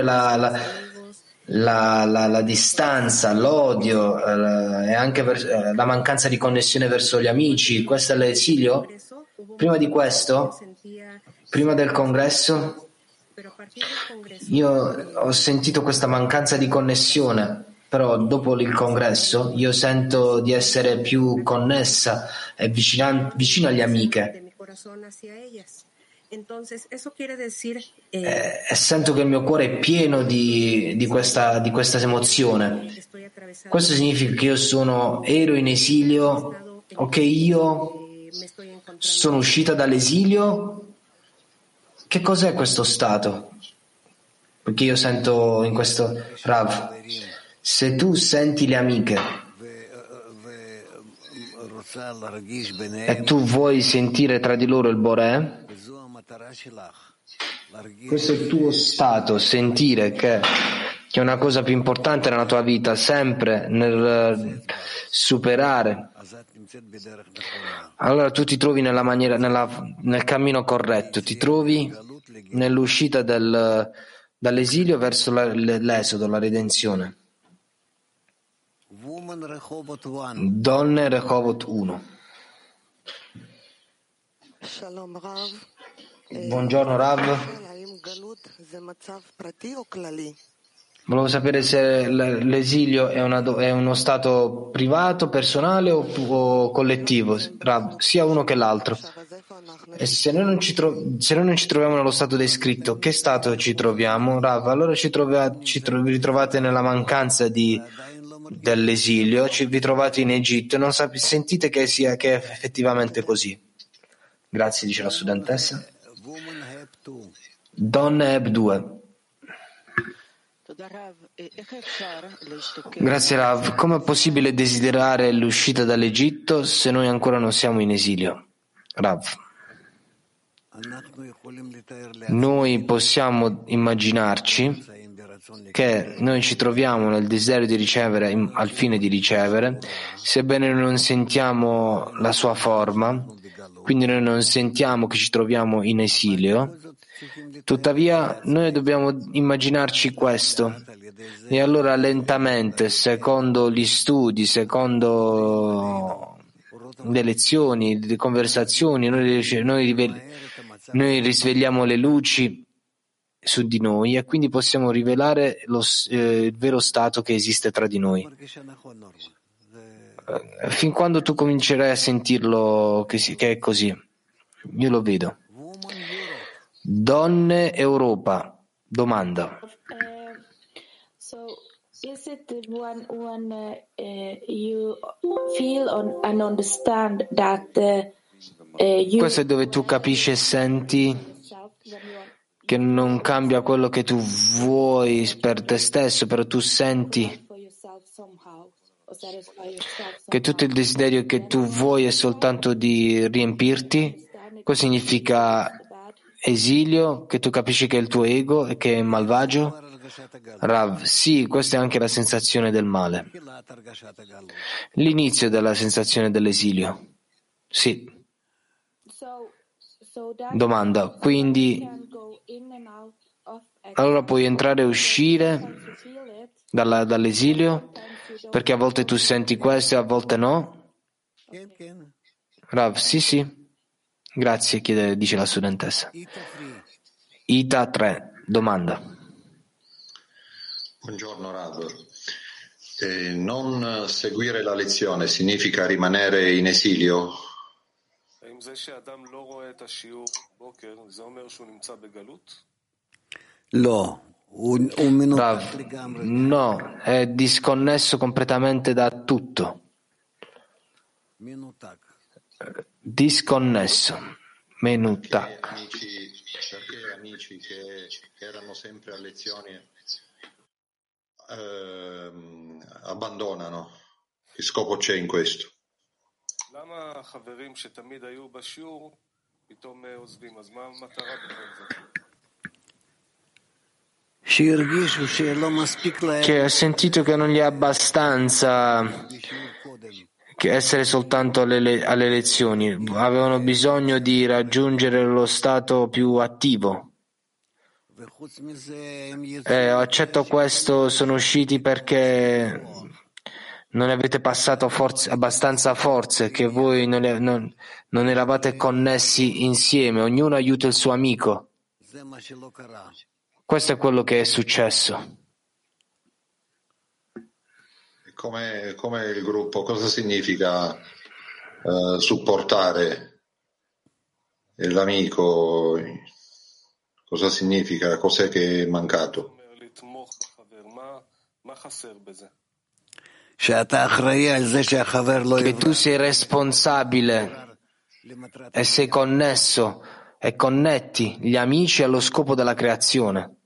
la distanza, l'odio e anche la mancanza di connessione verso gli amici. Questo è l'esilio? Prima di questo, prima del congresso, io ho sentito questa mancanza di connessione, però dopo il congresso io sento di essere più connessa e vicino agli amiche. E sento che il mio cuore è pieno di questa emozione. Questo significa che ero in esilio o che io sono uscita dall'esilio? Che cos'è questo stato? Perché io sento in questo Rav, se tu senti le amiche e tu vuoi sentire tra di loro il Boré, questo è il tuo stato, sentire che è una cosa più importante nella tua vita, sempre nel superare. Allora tu ti trovi nel cammino corretto, ti trovi nell'uscita dall'esilio verso l'esodo, la redenzione. Donne, Rehovot 1. Buongiorno Rav. Volevo sapere se l'esilio è uno stato privato, personale o collettivo, Rav, sia uno che l'altro. E se noi non ci troviamo nello stato descritto, che stato ci troviamo, Rav? Allora vi ritrovate nella mancanza dell'esilio, vi trovate in Egitto e non sentite che è effettivamente così. Grazie, dice la studentessa. Donne Eb 2. Grazie Rav. Come è possibile desiderare l'uscita dall'Egitto se noi ancora non siamo in esilio? Rav. Noi possiamo immaginarci che noi ci troviamo nel desiderio di ricevere al fine di ricevere, sebbene non sentiamo la sua forma, quindi noi non sentiamo che ci troviamo in esilio. Tuttavia noi dobbiamo immaginarci questo e allora lentamente, secondo gli studi, secondo le lezioni, le conversazioni, noi risvegliamo le luci su di noi e quindi possiamo rivelare il vero stato che esiste tra di noi. Fin quando tu comincerai a sentirlo che è così, io lo vedo. Donne Europa, domanda.
So is it when you feel and understand that
Questo è dove tu capisci e senti che non cambia quello che tu vuoi per te stesso, però tu senti che tutto il desiderio che tu vuoi è soltanto di riempirti. Questo significa esilio, che tu capisci che è il tuo ego e che è malvagio? Rav, sì, questa è anche la sensazione del male. L'inizio della sensazione dell'esilio. Sì. Domanda, quindi allora puoi entrare e uscire dall'esilio? Perché a volte tu senti questo e a volte no? Rav, sì. Grazie, dice la studentessa. Ita 3, domanda.
Buongiorno Rav. Non seguire la lezione significa rimanere in esilio?
Rav, no, è disconnesso completamente da tutto. Disconnesso. Menutak.
Perché amici che erano sempre a lezioni abbandonano? Che scopo c'è in questo?
Che ho sentito che non gli è abbastanza che essere soltanto alle lezioni, avevano bisogno di raggiungere lo stato più attivo. Accetto questo, sono usciti perché non avete passato abbastanza forze, che voi non eravate connessi insieme, ognuno aiuta il suo amico. Questo è quello che è successo.
Come il gruppo, cosa significa supportare l'amico? Cosa significa? Cos'è che è mancato?
Che tu sei responsabile e sei connesso e connetti gli amici allo scopo della creazione.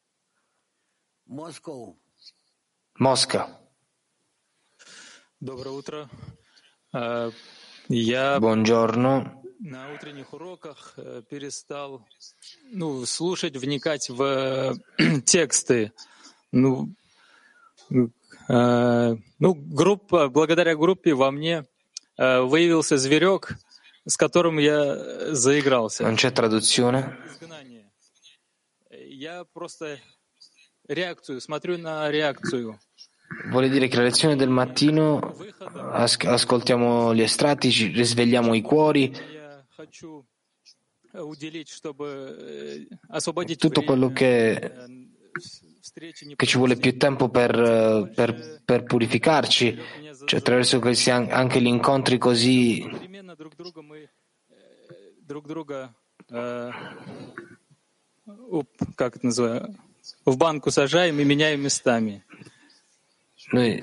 Mosca. Buongiorno.
На утренних уроках перестал слушать, вникать в тексты. Благодаря группе во мне выявился зверек, с которым я заигрался.
Non c'è traduzione.
Я просто реакцию, смотрю на реакцию.
Vuole dire che la lezione del mattino ascoltiamo gli estratti, ci risvegliamo i cuori. Tutto quello che ci vuole più tempo per purificarci, cioè attraverso questi anche gli incontri così
в банку сажаем и меняем местами.
Noi,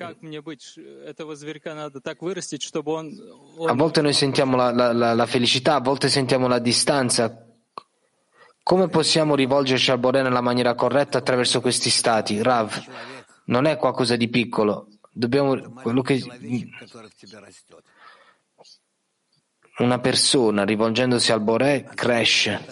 a volte noi sentiamo la felicità, a volte sentiamo la distanza. Come possiamo rivolgerci al Boré nella maniera corretta attraverso questi stati? Rav, non è qualcosa di piccolo. Una persona rivolgendosi al Boré cresce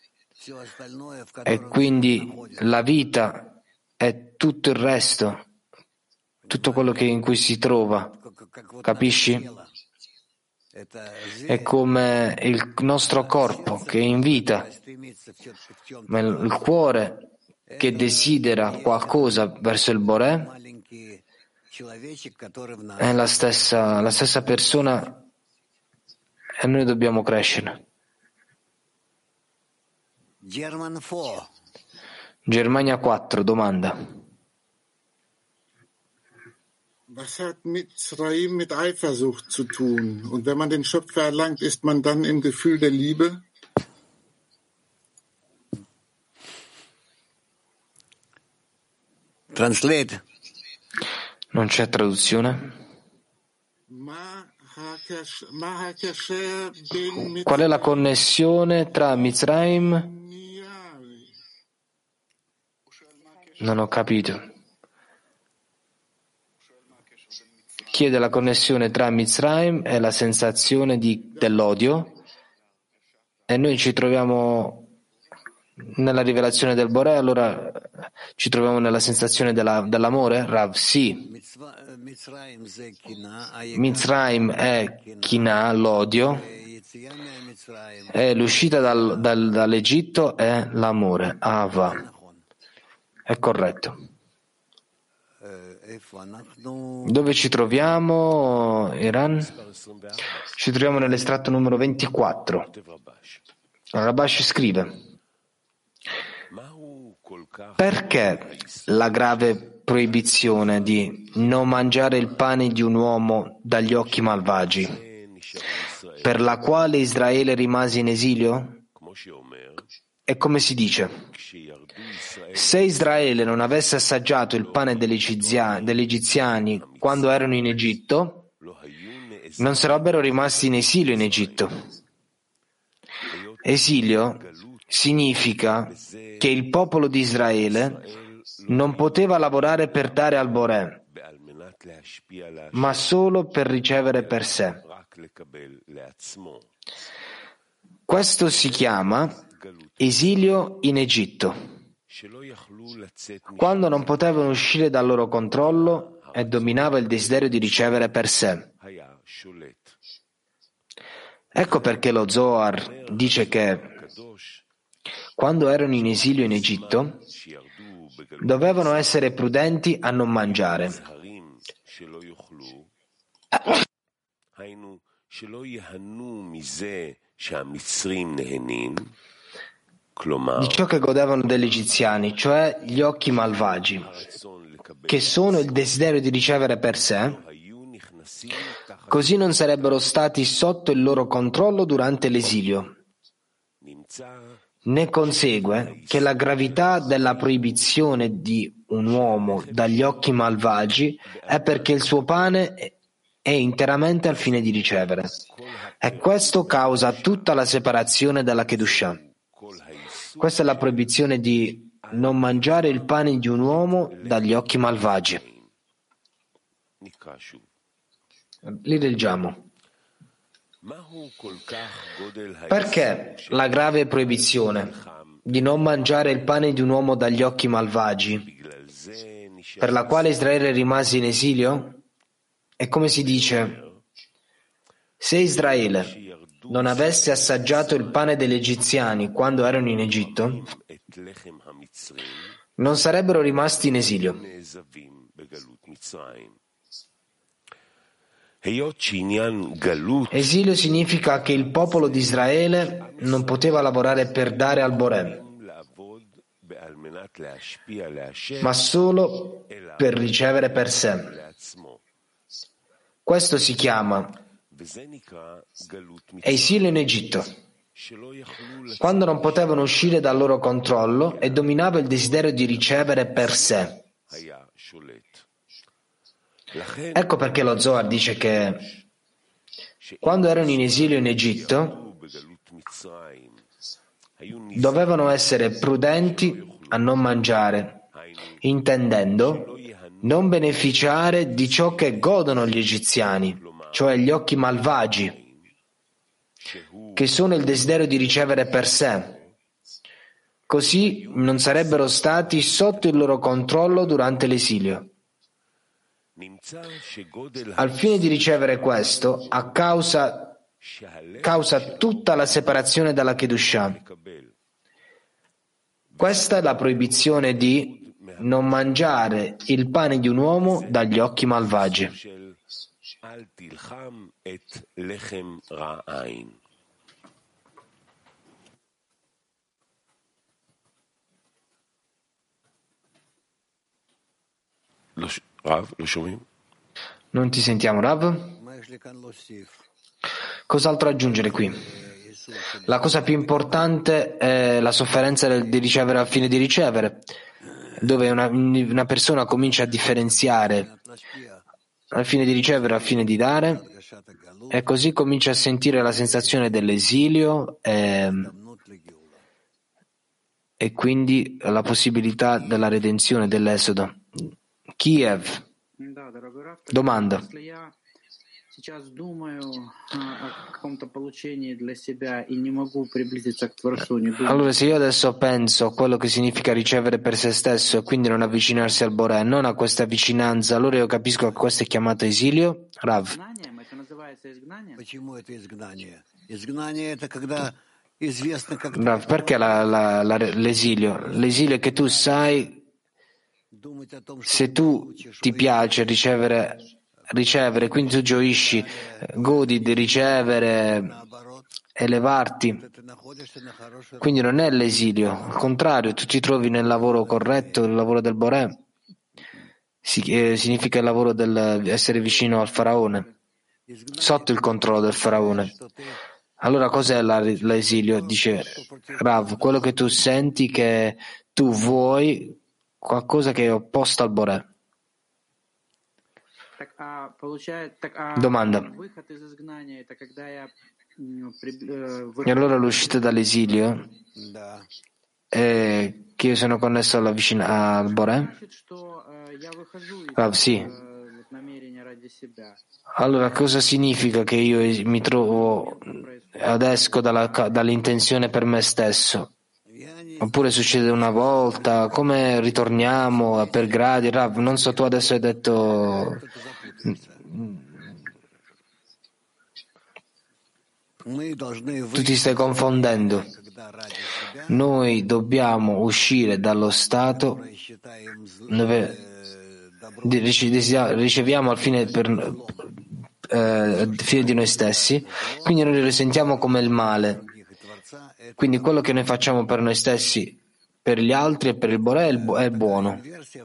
e quindi la vita è tutto il resto. Tutto quello in cui si trova, capisci? È come il nostro corpo che è in vita, ma il cuore che desidera qualcosa verso il Boré è la stessa persona e noi dobbiamo crescere. Germania 4, domanda.
Was hat Mitzrayim mit Eifersucht zu tun? Und wenn man den Schöpfer erlangt, ist man dann im Gefühl der Liebe?
Translate.
Non c'è traduzione? Qual è la connessione tra Mitzrayim? Non ho capito. Chiede la connessione tra Mitzrayim e la sensazione dell'odio, e noi ci troviamo nella rivelazione del Boré, allora ci troviamo nella sensazione dell'amore? Rav, sì. Mitzrayim è Kina, l'odio, e l'uscita dall'Egitto è l'amore, Ava. È corretto. Dove ci troviamo, Iran? Ci troviamo nell'estratto numero 24. Rabash scrive: perché la grave proibizione di non mangiare il pane di un uomo dagli occhi malvagi, per la quale Israele rimase in esilio? E come si dice, se Israele non avesse assaggiato il pane degli egiziani quando erano in Egitto, non sarebbero rimasti in esilio in Egitto. Esilio significa che il popolo di Israele non poteva lavorare per dare al Boré, ma solo per ricevere per sé. Questo si chiama esilio in Egitto, quando non potevano uscire dal loro controllo e dominava il desiderio di ricevere per sé. Ecco perché lo Zohar dice che quando erano in esilio in Egitto dovevano essere prudenti a non mangiare. Di ciò che godevano degli egiziani, cioè gli occhi malvagi, che sono il desiderio di ricevere per sé, così non sarebbero stati sotto il loro controllo durante l'esilio. Ne consegue che la gravità della proibizione di un uomo dagli occhi malvagi è perché il suo pane è interamente al fine di ricevere, e questo causa tutta la separazione dalla Kedushah. Questa è la proibizione di non mangiare il pane di un uomo dagli occhi malvagi. Li leggiamo. Perché la grave proibizione di non mangiare il pane di un uomo dagli occhi malvagi, per la quale Israele rimase in esilio? E come si dice, se Israele non avesse assaggiato il pane degli egiziani quando erano in Egitto, non sarebbero rimasti in esilio. Esilio significa che il popolo di Israele non poteva lavorare per dare al Boré, ma solo per ricevere per sé. Questo si chiama esilio in Egitto, quando non potevano uscire dal loro controllo e dominava il desiderio di ricevere per sé. Ecco perché lo Zohar dice che quando erano in esilio in Egitto dovevano essere prudenti a non mangiare, intendendo non beneficiare di ciò che godono gli egiziani, cioè gli occhi malvagi, che sono il desiderio di ricevere per sé. Così non sarebbero stati sotto il loro controllo durante l'esilio. Al fine di ricevere questo, causa tutta la separazione dalla Kedushah. Questa è la proibizione di non mangiare il pane di un uomo dagli occhi malvagi. Non ti sentiamo, Rav? Cos'altro aggiungere qui? La cosa più importante è la sofferenza di ricevere al fine di ricevere. dove una persona comincia a differenziare al fine di ricevere, al fine di dare, e così comincia a sentire la sensazione dell'esilio e quindi la possibilità della redenzione, dell'esodo. Kiev. Domanda. Allora, se io adesso penso a quello che significa ricevere per se stesso e quindi non avvicinarsi al Boré, non a questa vicinanza, allora io capisco che questo è chiamato esilio? Rav. Rav, perché l'esilio? L'esilio è che tu sai, se tu ti piace ricevere, quindi tu gioisci, godi di ricevere, elevarti, quindi non è l'esilio, al contrario, tu ti trovi nel lavoro corretto, il lavoro del Boré, significa il lavoro dell'essere vicino al faraone, sotto il controllo del faraone. Allora cos'è l'esilio? Dice Rav, quello che tu senti che tu vuoi qualcosa che è opposto al Boré. Domanda. E allora l'uscita dall'esilio è che io sono connesso al Boré? Rav, sì. Allora cosa significa che io mi trovo ed esco dall'intenzione per me stesso? Oppure succede una volta? Come ritorniamo per gradi? Rav, non so, tu adesso hai detto tu ti stai confondendo. Noi dobbiamo uscire dallo stato dove riceviamo al fine di noi stessi, quindi noi lo risentiamo come il male. Quindi quello che noi facciamo per noi stessi, per gli altri e per il Boré è buono.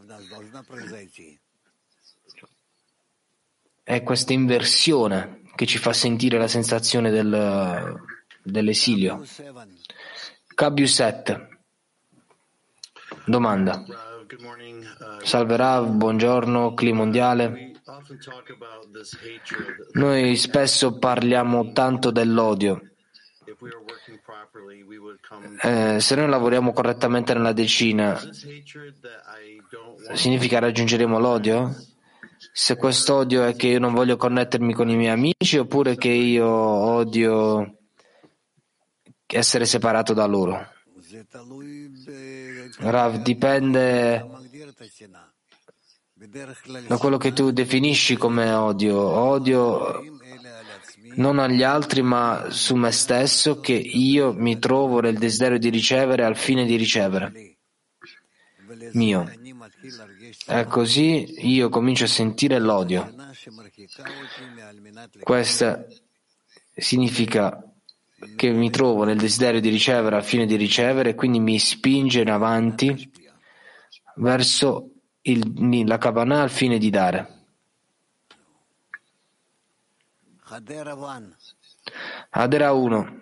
È questa inversione che ci fa sentire la sensazione dell'esilio. Kabiu 7. Domanda. Salve Rav, buongiorno, clima mondiale. Noi spesso parliamo tanto dell'odio. Se noi lavoriamo correttamente nella decina, significa raggiungeremo l'odio? Se quest'odio è che io non voglio connettermi con i miei amici, oppure che io odio essere separato da loro? Rav, dipende da quello che tu definisci come odio. Odio non agli altri ma su me stesso, che io mi trovo nel desiderio di ricevere al fine di ricevere mio, e così io comincio a sentire l'odio. Questo significa che mi trovo nel desiderio di ricevere al fine di ricevere, e quindi mi spinge in avanti verso la Kavanah al fine di dare. Adera 1.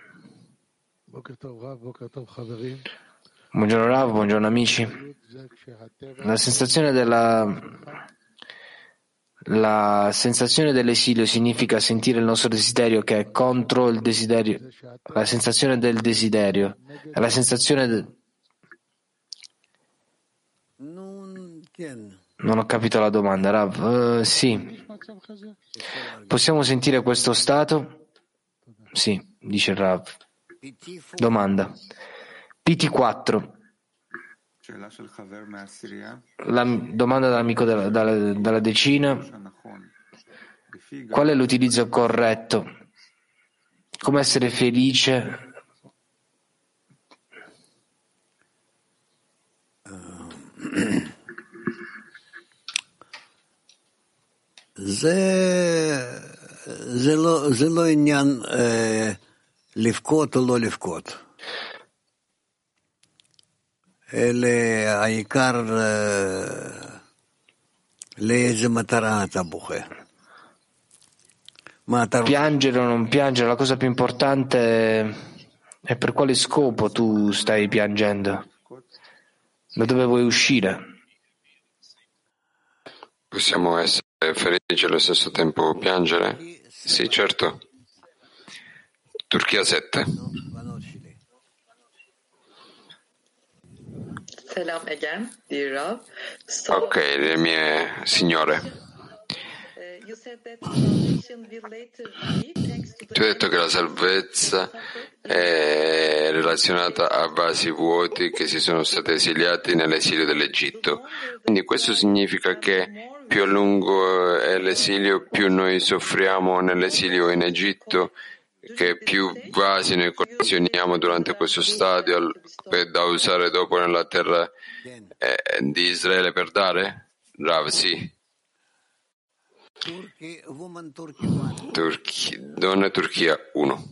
Buongiorno Rav, buongiorno amici. La sensazione dell'esilio significa sentire il nostro desiderio che è contro il desiderio, la sensazione del desiderio, è la sensazione Non ho capito la domanda, Rav. Sì. Possiamo sentire questo stato? Sì, dice Rav. Domanda. PT4. La domanda dall'amico dalla decina. Qual è l'utilizzo corretto? Come essere felice?
זה לא עניין לבכות או לא לבכות, אלא העיקר לאיזה מטרה אתה בוכה.
Piangere o non piangere, la cosa più importante è per quale scopo tu stai piangendo. Da dove vuoi uscire?
Possiamo essere felici e allo stesso tempo piangere? Sì, certo. Turchia 7.
Selam again, dear Rav.
Ok, le mie signore.
You said that salvation will later be thanks to the
Ti ho detto che la salvezza è relazionata a vasi vuoti che si sono stati esiliati nell'esilio dell'Egitto. Quindi questo significa che più a lungo è l'esilio, più noi soffriamo nell'esilio in Egitto, che più vasi noi collezioniamo durante questo stadio da usare dopo nella terra di Israele per dare? Rav, sì. Donna Turchia 1.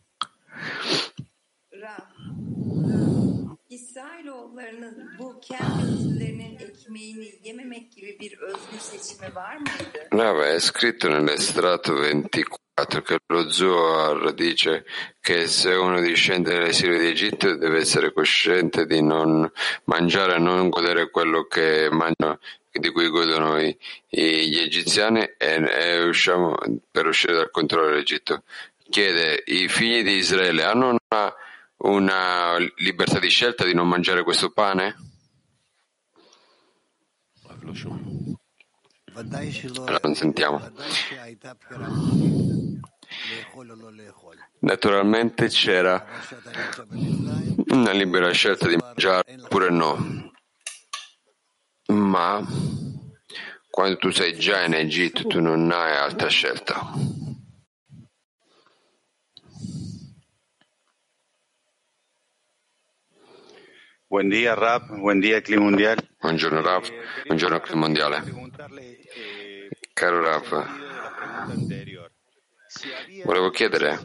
İsrailoğullarının bu kendi özürlerinin ekmeğini yememek gibi bir özgür seçimi var mıydı?
Rav, è scritto nell'estratto 24 che lo Zohar dice che se uno discende dall'esilio di Egitto deve essere cosciente di non mangiare, non godere quello che mangiano, di cui godono gli egiziani e usciamo per uscire dal controllo dell'Egitto. Chiede, i figli di Israele hanno una libertà di scelta di non mangiare questo pane? Allora, non sentiamo. Naturalmente c'era una libera scelta di mangiare oppure no, ma quando tu sei già in Egitto tu non hai altra scelta.
Buen día, Rav. Buen día, Clima Mundial.
Buongiorno Rav, buongiorno Clima Mondiale. Caro Rav, volevo chiedere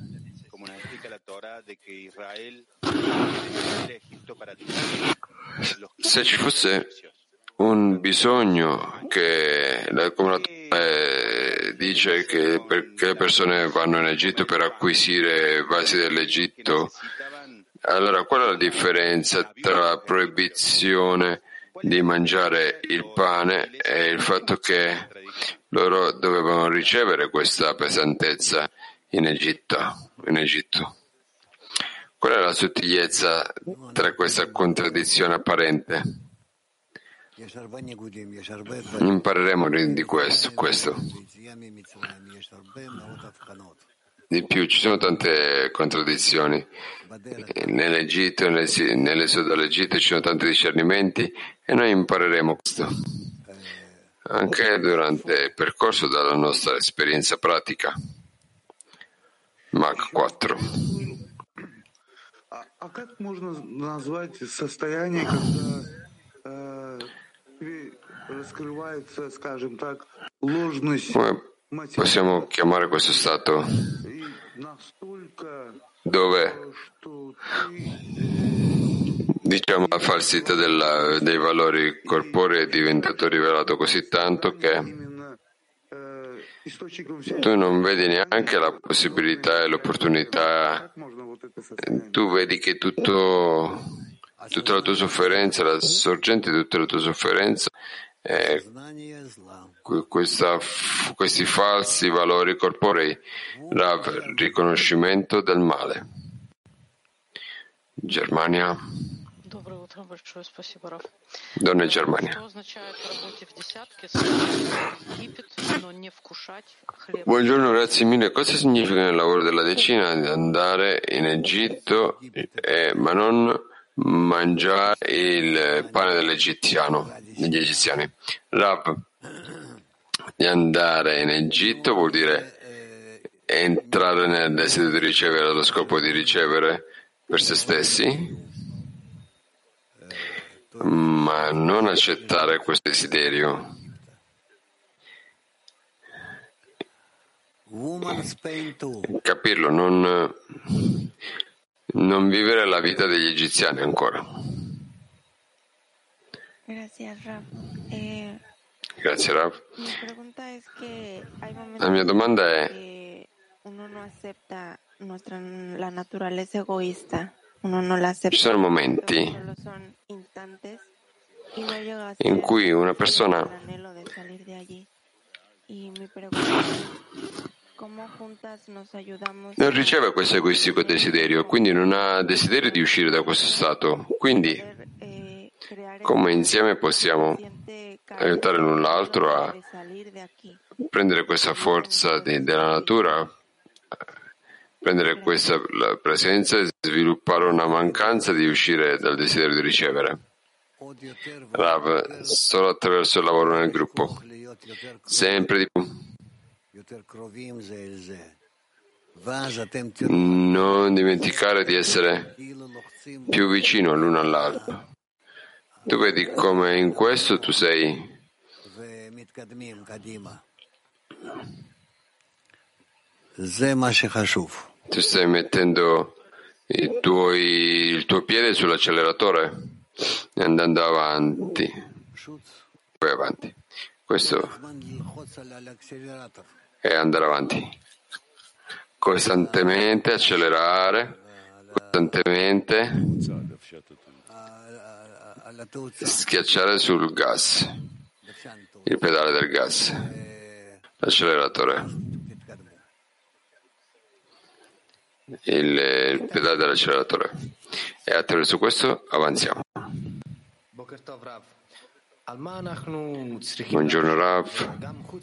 se ci fosse un bisogno che come dice che perché le persone vanno in Egitto per acquisire vasi dell'Egitto, allora qual è la differenza tra la proibizione di mangiare il pane e il fatto che loro dovevano ricevere questa pesantezza in Egitto? Qual è la sottigliezza tra questa contraddizione apparente? Impareremo di questo. Di più, ci sono tante contraddizioni. Nell'Egitto, nell'esodo dall'Egitto ci sono tanti discernimenti e noi impareremo questo anche durante il percorso dalla nostra esperienza pratica. Mach 4.
А как можно назвать состояние, когда раскрывается, скажем так, ложность?
Come possiamo chiamare questo stato dove diciamo la falsità dei valori corporei è diventato rivelato così tanto che tu non vedi neanche la possibilità e l'opportunità, tu vedi che tutta la tua sofferenza, la sorgente di tutta la tua sofferenza è questi falsi valori corporei, Rav, riconoscimento del male. Germania. Donna Germania. Buongiorno, grazie mille. Cosa significa nel lavoro della decina di andare in Egitto ma non mangiare il pane degli egiziani? Rav, di andare in Egitto vuol dire entrare nel desiderio di ricevere allo scopo di ricevere per se stessi, ma non accettare questo desiderio. Capirlo, non vivere la vita degli egiziani ancora.
Grazie, Rav.
Grazie, Rav. La mia domanda è:
uno no acepta la naturaleza egoísta
Ci sono momenti in cui una persona non riceve questo egoistico desiderio, quindi non ha desiderio di uscire da questo stato. Quindi, come insieme possiamo aiutare l'un l'altro a prendere questa forza della natura, prendere questa la presenza e sviluppare una mancanza di uscire dal desiderio di ricevere? Rav, solo attraverso il lavoro nel gruppo, sempre di più. Non dimenticare di essere più vicino l'uno all'altro. Tu vedi come in questo tu sei tu stai mettendo il tuo piede sull'acceleratore e andando avanti, poi avanti. Questo è andare avanti, costantemente accelerare, costantemente schiacciare sul gas, il pedale del gas, l'acceleratore, il pedale dell'acceleratore, e attraverso questo avanziamo. Buongiorno Rav.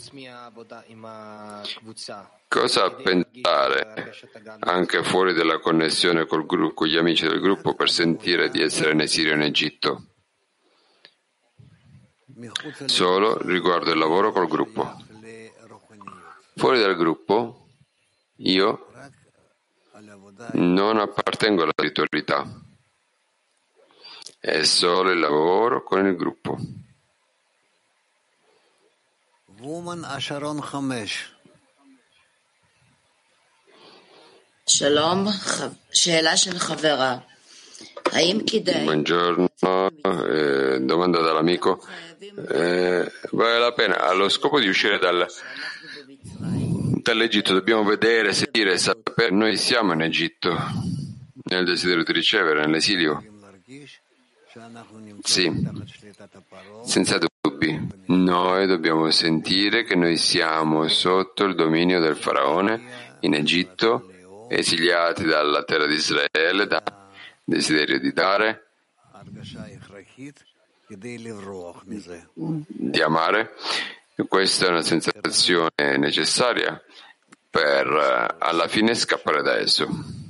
Cosa pensare anche fuori della connessione col gruppo, con gli amici del gruppo, per sentire di essere in esilio in Egitto? Solo riguardo il lavoro col gruppo. Fuori dal gruppo io non appartengo alla spiritualità, è solo il lavoro con il gruppo. Buongiorno, domanda dall'amico. Vale la pena, allo scopo di uscire dall'Egitto, dobbiamo vedere, sentire, sapere. Noi siamo in Egitto, nel desiderio di ricevere, nell'esilio. Sì, senza dubbi. Noi dobbiamo sentire che noi siamo sotto il dominio del faraone in Egitto, esiliati dalla terra di Israele, dal desiderio di dare, di amare. Questa è una sensazione necessaria per alla fine scappare da esso.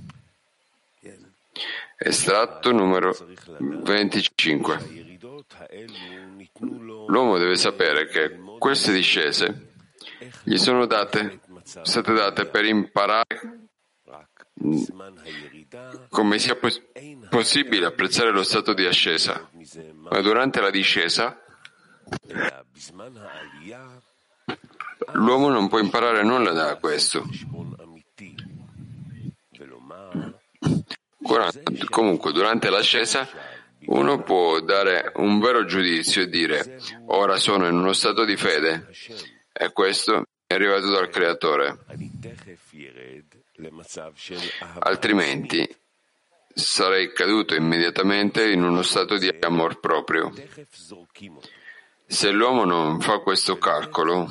Estratto numero 25. L'uomo deve sapere che queste discese gli sono state date per imparare come sia possibile apprezzare lo stato di ascesa, ma durante la discesa l'uomo non può imparare nulla da questo. Comunque, durante l'ascesa uno può dare un vero giudizio e dire: ora sono in uno stato di fede e questo è arrivato dal Creatore. Altrimenti sarei caduto immediatamente in uno stato di amor proprio. Se l'uomo non fa questo calcolo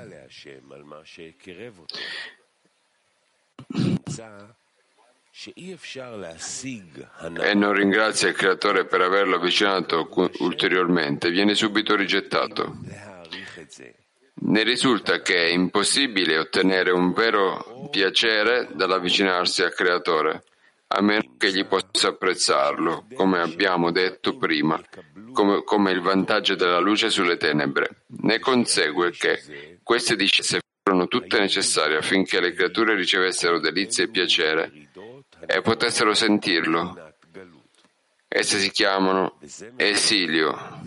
e non ringrazia il Creatore per averlo avvicinato ulteriormente, viene subito rigettato. Ne risulta che è impossibile ottenere un vero piacere dall'avvicinarsi al Creatore, a meno che egli possa apprezzarlo, come abbiamo detto prima, come il vantaggio della luce sulle tenebre. Ne consegue che queste discese furono tutte necessarie affinché le creature ricevessero delizie e piacere e potessero sentirlo. Esse si chiamano esilio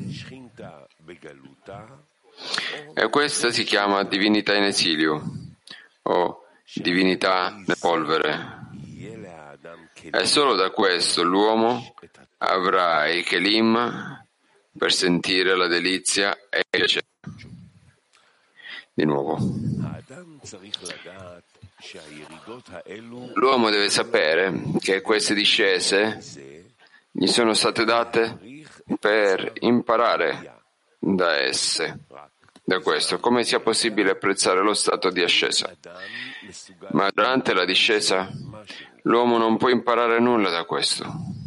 e questa si chiama divinità in esilio o divinità nella polvere. E solo da questo l'uomo avrà i kelim per sentire la delizia e il piacere. Di nuovo, L'uomo deve sapere che queste discese gli sono state date per imparare da esse. Da questo, come sia possibile apprezzare lo stato di ascesa. Ma durante la discesa, l'uomo non può imparare nulla da questo.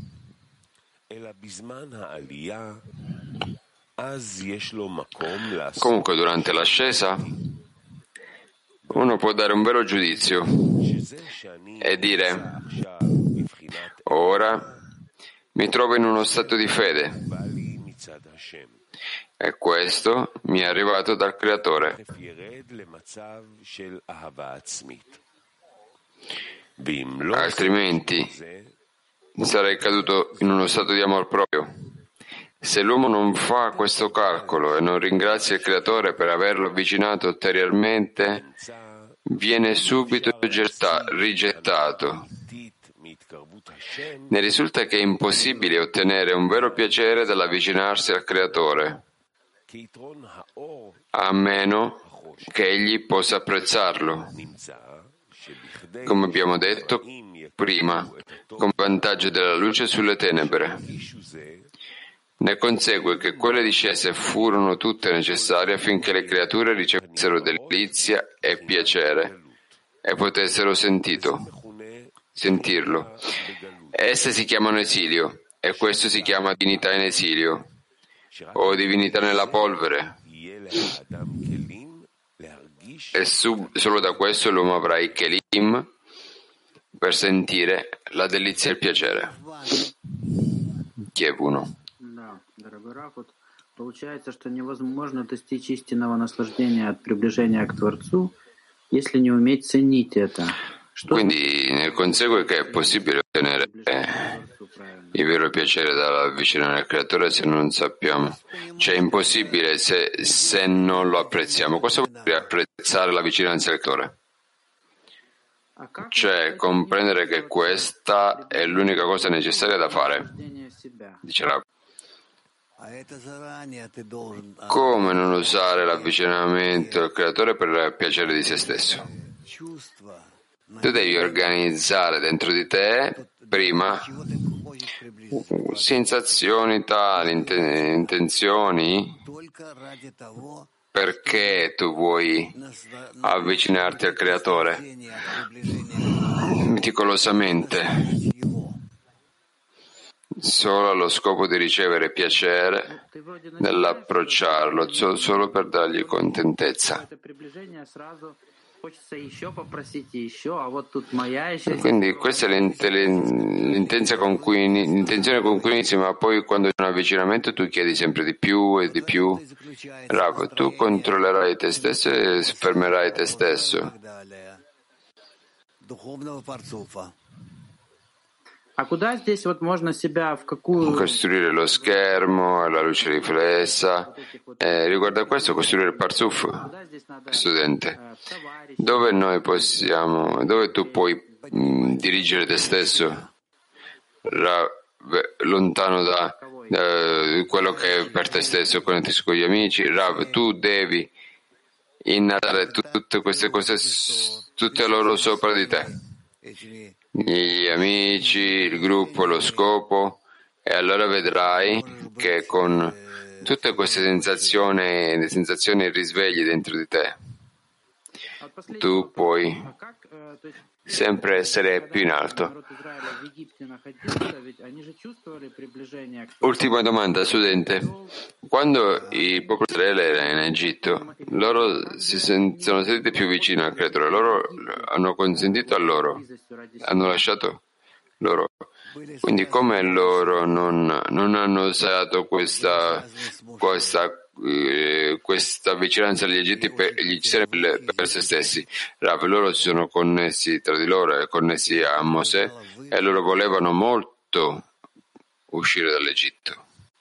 Comunque, durante l'ascesa, uno può dare un vero giudizio e dire: ora mi trovo in uno stato di fede e questo mi è arrivato dal Creatore. Altrimenti sarei caduto in uno stato di amor proprio. Se l'uomo non fa questo calcolo e non ringrazia il Creatore per averlo avvicinato ulteriormente, viene subito rigettato. Ne risulta che è impossibile ottenere un vero piacere dall'avvicinarsi al Creatore, a meno che egli possa apprezzarlo, come abbiamo detto prima, come vantaggio della luce sulle tenebre. Ne consegue che quelle discese furono tutte necessarie affinché le creature ricevessero delizia e piacere e potessero sentirlo. Esse si chiamano esilio e questo si chiama divinità in esilio o divinità nella polvere. E solo da questo l'uomo avrà i kelim per sentire la delizia e il piacere. Kiev 1.
Получается, что невозможно достичь истинного наслаждения от приближения к Творцу, если не уметь ценить это.
Quindi ne consegue che è possibile ottenere il vero piacere dall'avvicinare al Creatore se non sappiamo. Cioè è impossibile se non lo apprezziamo. Cosa vuol dire apprezzare la vicinanza al Creatore? Cioè comprendere che questa è l'unica cosa necessaria da fare. Dice Rav. Come non usare l'avvicinamento al Creatore per il piacere di se stesso? Tu devi organizzare dentro di te prima sensazioni tali, intenzioni, perché tu vuoi avvicinarti al Creatore meticolosamente, solo allo scopo di ricevere piacere nell'approcciarlo, solo per dargli contentezza. Quindi questa è l'intenzione con cui inizi, ma poi quando c'è un avvicinamento tu chiedi sempre di più e di più. Rav, tu controllerai te stesso e fermerai te stesso. Costruire lo schermo, la luce riflessa. Riguardo a questo, costruire il parzuf, studente. Dove tu puoi dirigere te stesso? Lontano da quello che è per te stesso, connettersi con gli amici. Rav, tu devi innalzare tutte queste cose, tutte loro sopra di te. Gli amici, il gruppo, lo scopo, e allora vedrai che con tutte queste sensazioni e risvegli dentro di te, tu puoi sempre essere più in alto. Ultima domanda, studente. Quando il popolo di Israele era in Egitto, loro sono sentiti più vicini al Creatore, loro hanno consentito a loro, hanno lasciato loro. Quindi come loro non hanno usato questa vicinanza agli egizi per se stessi? Rav, loro si sono connessi tra di loro e connessi a Mosè e loro volevano molto uscire dall'Egitto.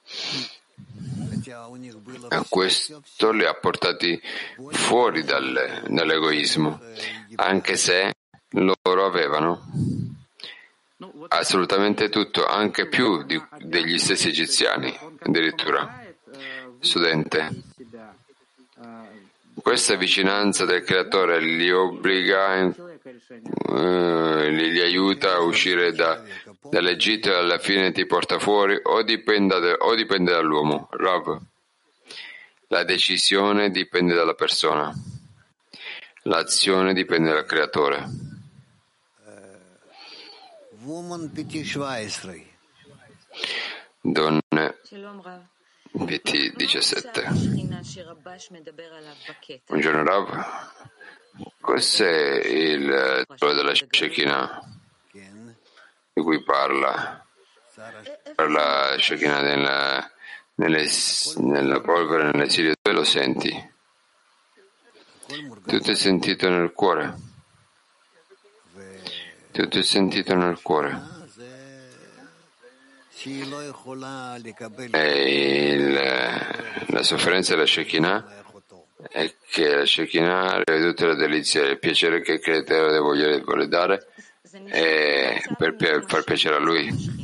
E questo li ha portati fuori dall'egoismo, anche se loro avevano assolutamente tutto, anche più degli stessi egiziani, addirittura. Studente, questa vicinanza del Creatore li obbliga li aiuta a uscire dall'Egitto e alla fine ti porta fuori, o dipende dall'uomo. Rav, la decisione dipende dalla persona, l'azione dipende dal creatore. Donne PT 17. Buongiorno Rav, cos'è il titolo della Shekinah di cui parla Shekinah nella polvere, nell'esilio? Dove lo senti? Tutto è sentito nel cuore. Tutto è sentito nel cuore. La sofferenza della Shekinah è che la Shekinah rivede tutte le delizie e il piacere che il creatore vuole dare per far piacere a lui.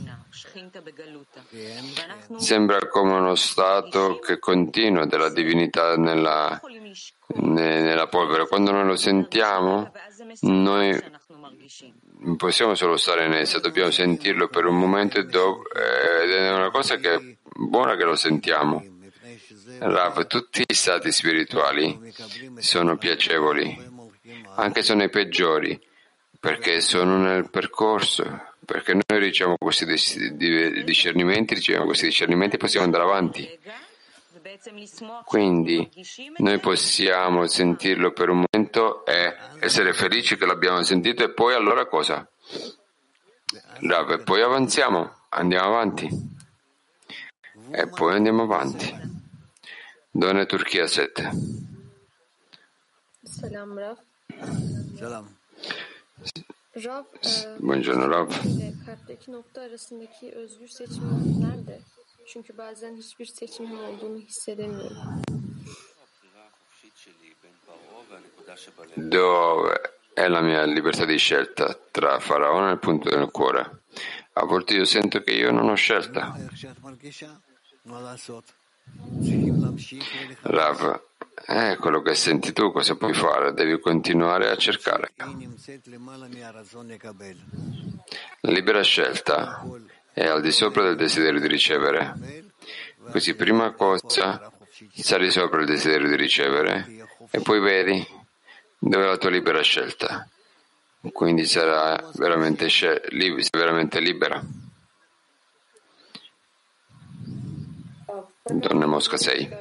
Sembra come uno stato che continua della divinità nella polvere. Quando noi lo sentiamo, noi non possiamo solo stare in essa, dobbiamo sentirlo per un momento ed è una cosa che è buona che lo sentiamo. Rav, tutti gli stati spirituali sono piacevoli, anche sono i peggiori, perché sono nel percorso, perché noi riceviamo questi discernimenti e possiamo andare avanti. Quindi noi possiamo sentirlo per un momento e essere felici che l'abbiamo sentito, e poi allora cosa? Rav, e poi avanziamo, andiamo avanti. E poi andiamo avanti. Donne Turchia 7.
Selam Rav.
Selam.
Rav,
buongiorno Rav.
kalpteki nokta arasındaki özgür seçim nerede? Çünkü bazen hiçbir seçimim olduğunu hissedemiyorum.
Dove è la mia libertà di scelta tra Faraone e il punto del cuore? A volte io sento che io non ho scelta. Rav, è quello che senti tu, cosa puoi fare? Devi continuare a cercare. La libera scelta è al di sopra del desiderio di ricevere. Così, prima cosa, sali sopra il desiderio di ricevere e poi vedi dove è la tua libera scelta. Quindi sarai veramente libera. Donna Mosca 6.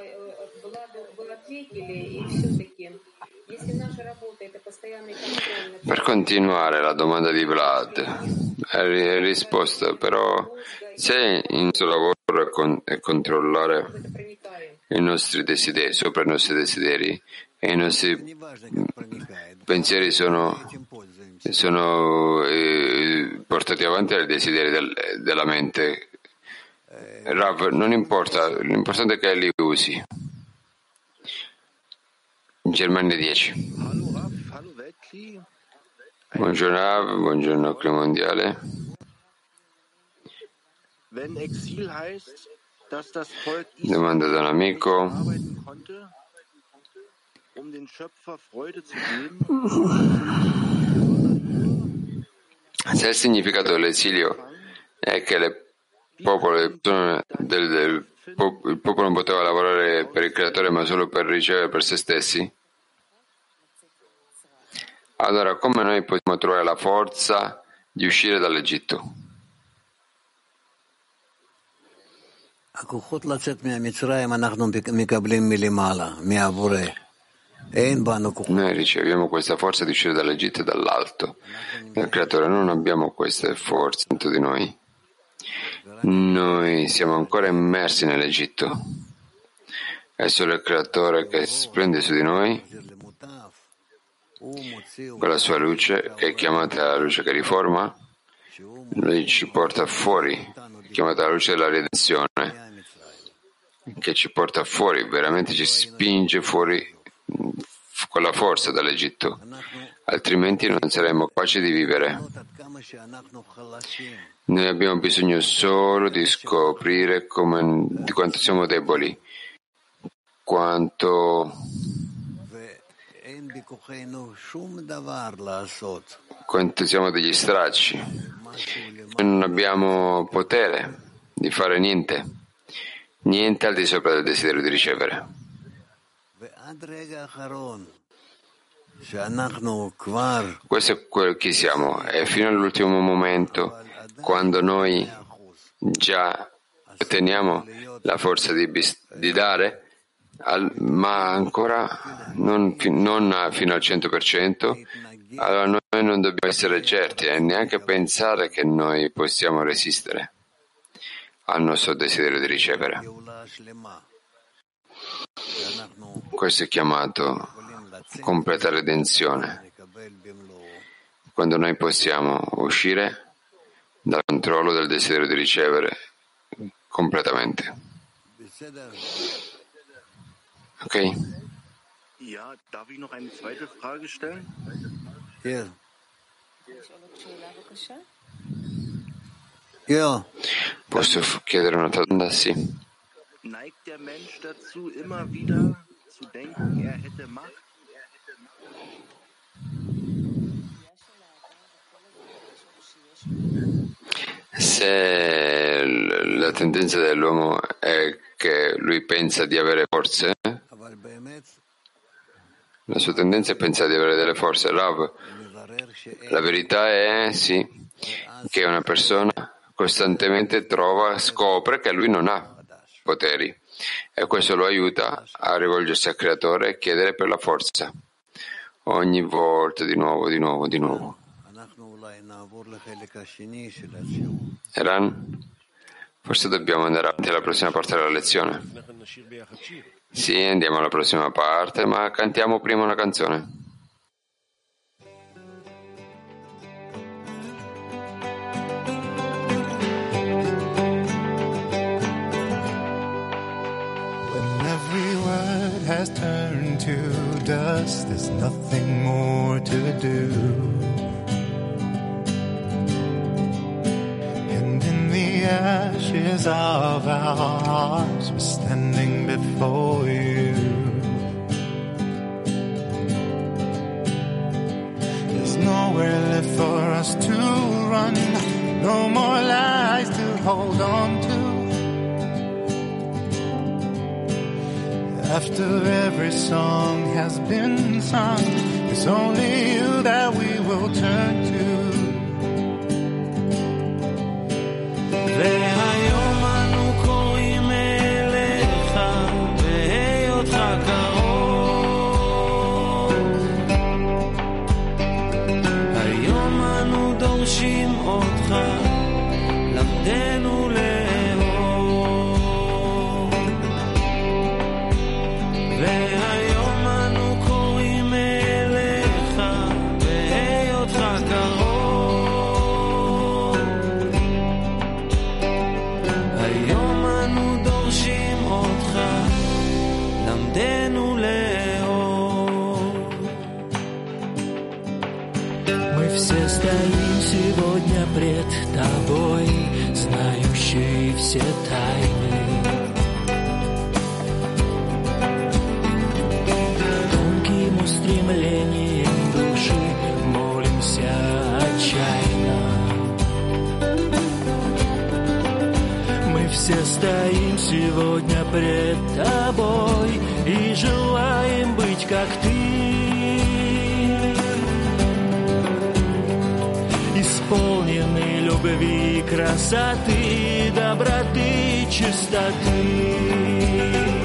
Per continuare la domanda di Vlad, è risposta, però se il nostro lavoro è controllare i nostri desideri, sopra i nostri desideri, e i nostri pensieri sono portati avanti dai desideri della mente. Rav, non importa, l'importante è che li usi. Germania 10. Buongiorno Rav, buongiorno Clima Mondiale. Domanda da un amico. Se il significato dell'esilio è che il popolo non poteva lavorare per il creatore ma solo per ricevere per se stessi, allora come noi possiamo trovare la forza di uscire dall'Egitto? Noi riceviamo questa forza di uscire dall'Egitto e dall'alto. Il creatore, non abbiamo queste forze dentro di noi. Noi siamo ancora immersi nell'Egitto. È solo il creatore che splende su di noi con la sua luce, che è chiamata la luce che riforma. Lui ci porta fuori, chiamata la luce della redenzione, che ci porta fuori, veramente ci spinge fuori con la forza dall'Egitto, altrimenti non saremmo capaci di vivere. Noi abbiamo bisogno solo di scoprire di quanto siamo deboli, quanto quanto siamo degli stracci. Noi non abbiamo potere di fare niente al di sopra del desiderio di ricevere. Questo è quello che siamo, e fino all'ultimo momento, quando noi già otteniamo la forza di dare, ma ancora non fino al 100%, allora noi non dobbiamo essere certi e neanche pensare che noi possiamo resistere al nostro desiderio di ricevere. Questo è chiamato completa redenzione, quando noi possiamo uscire dal controllo del desiderio di ricevere completamente. Ok?
Ja, darf ich noch eine zweite Frage stellen?
Posso chiedere un'altra domanda? Sì.
Neigt der Mensch dazu, immer wieder zu denken, er hätte Macht?
Se la tendenza dell'uomo è che lui pensa di avere forze, la sua tendenza è pensare di avere delle forze. Rav, la verità è sì, che una persona costantemente scopre che lui non ha poteri, e questo lo aiuta a rivolgersi al Creatore e chiedere per la forza ogni volta, di nuovo. Eran, forse dobbiamo andare avanti alla prossima parte della lezione. Sì, andiamo alla prossima parte, ma cantiamo prima una canzone.
When every word has turned to dust, there's nothing more to do. Ashes of our hearts, we're standing before you. There's nowhere left for us to run, no more lies to hold on to. After every song has been sung, it's only you that we will turn to.
והיום אנו קוראים אליך בהיותך קרוב. היום אנו דורשים אותך, למדנו לאהוב. והיום אנו קוראים אליך בהיותך קרוב. Все стоим сегодня пред тобой, знающий все тайны. Тонким устремлением души молимся отчаянно. Мы все стоим сегодня пред тобой и желаем быть как ты. Исполнены любви, красоты, доброты, чистоты.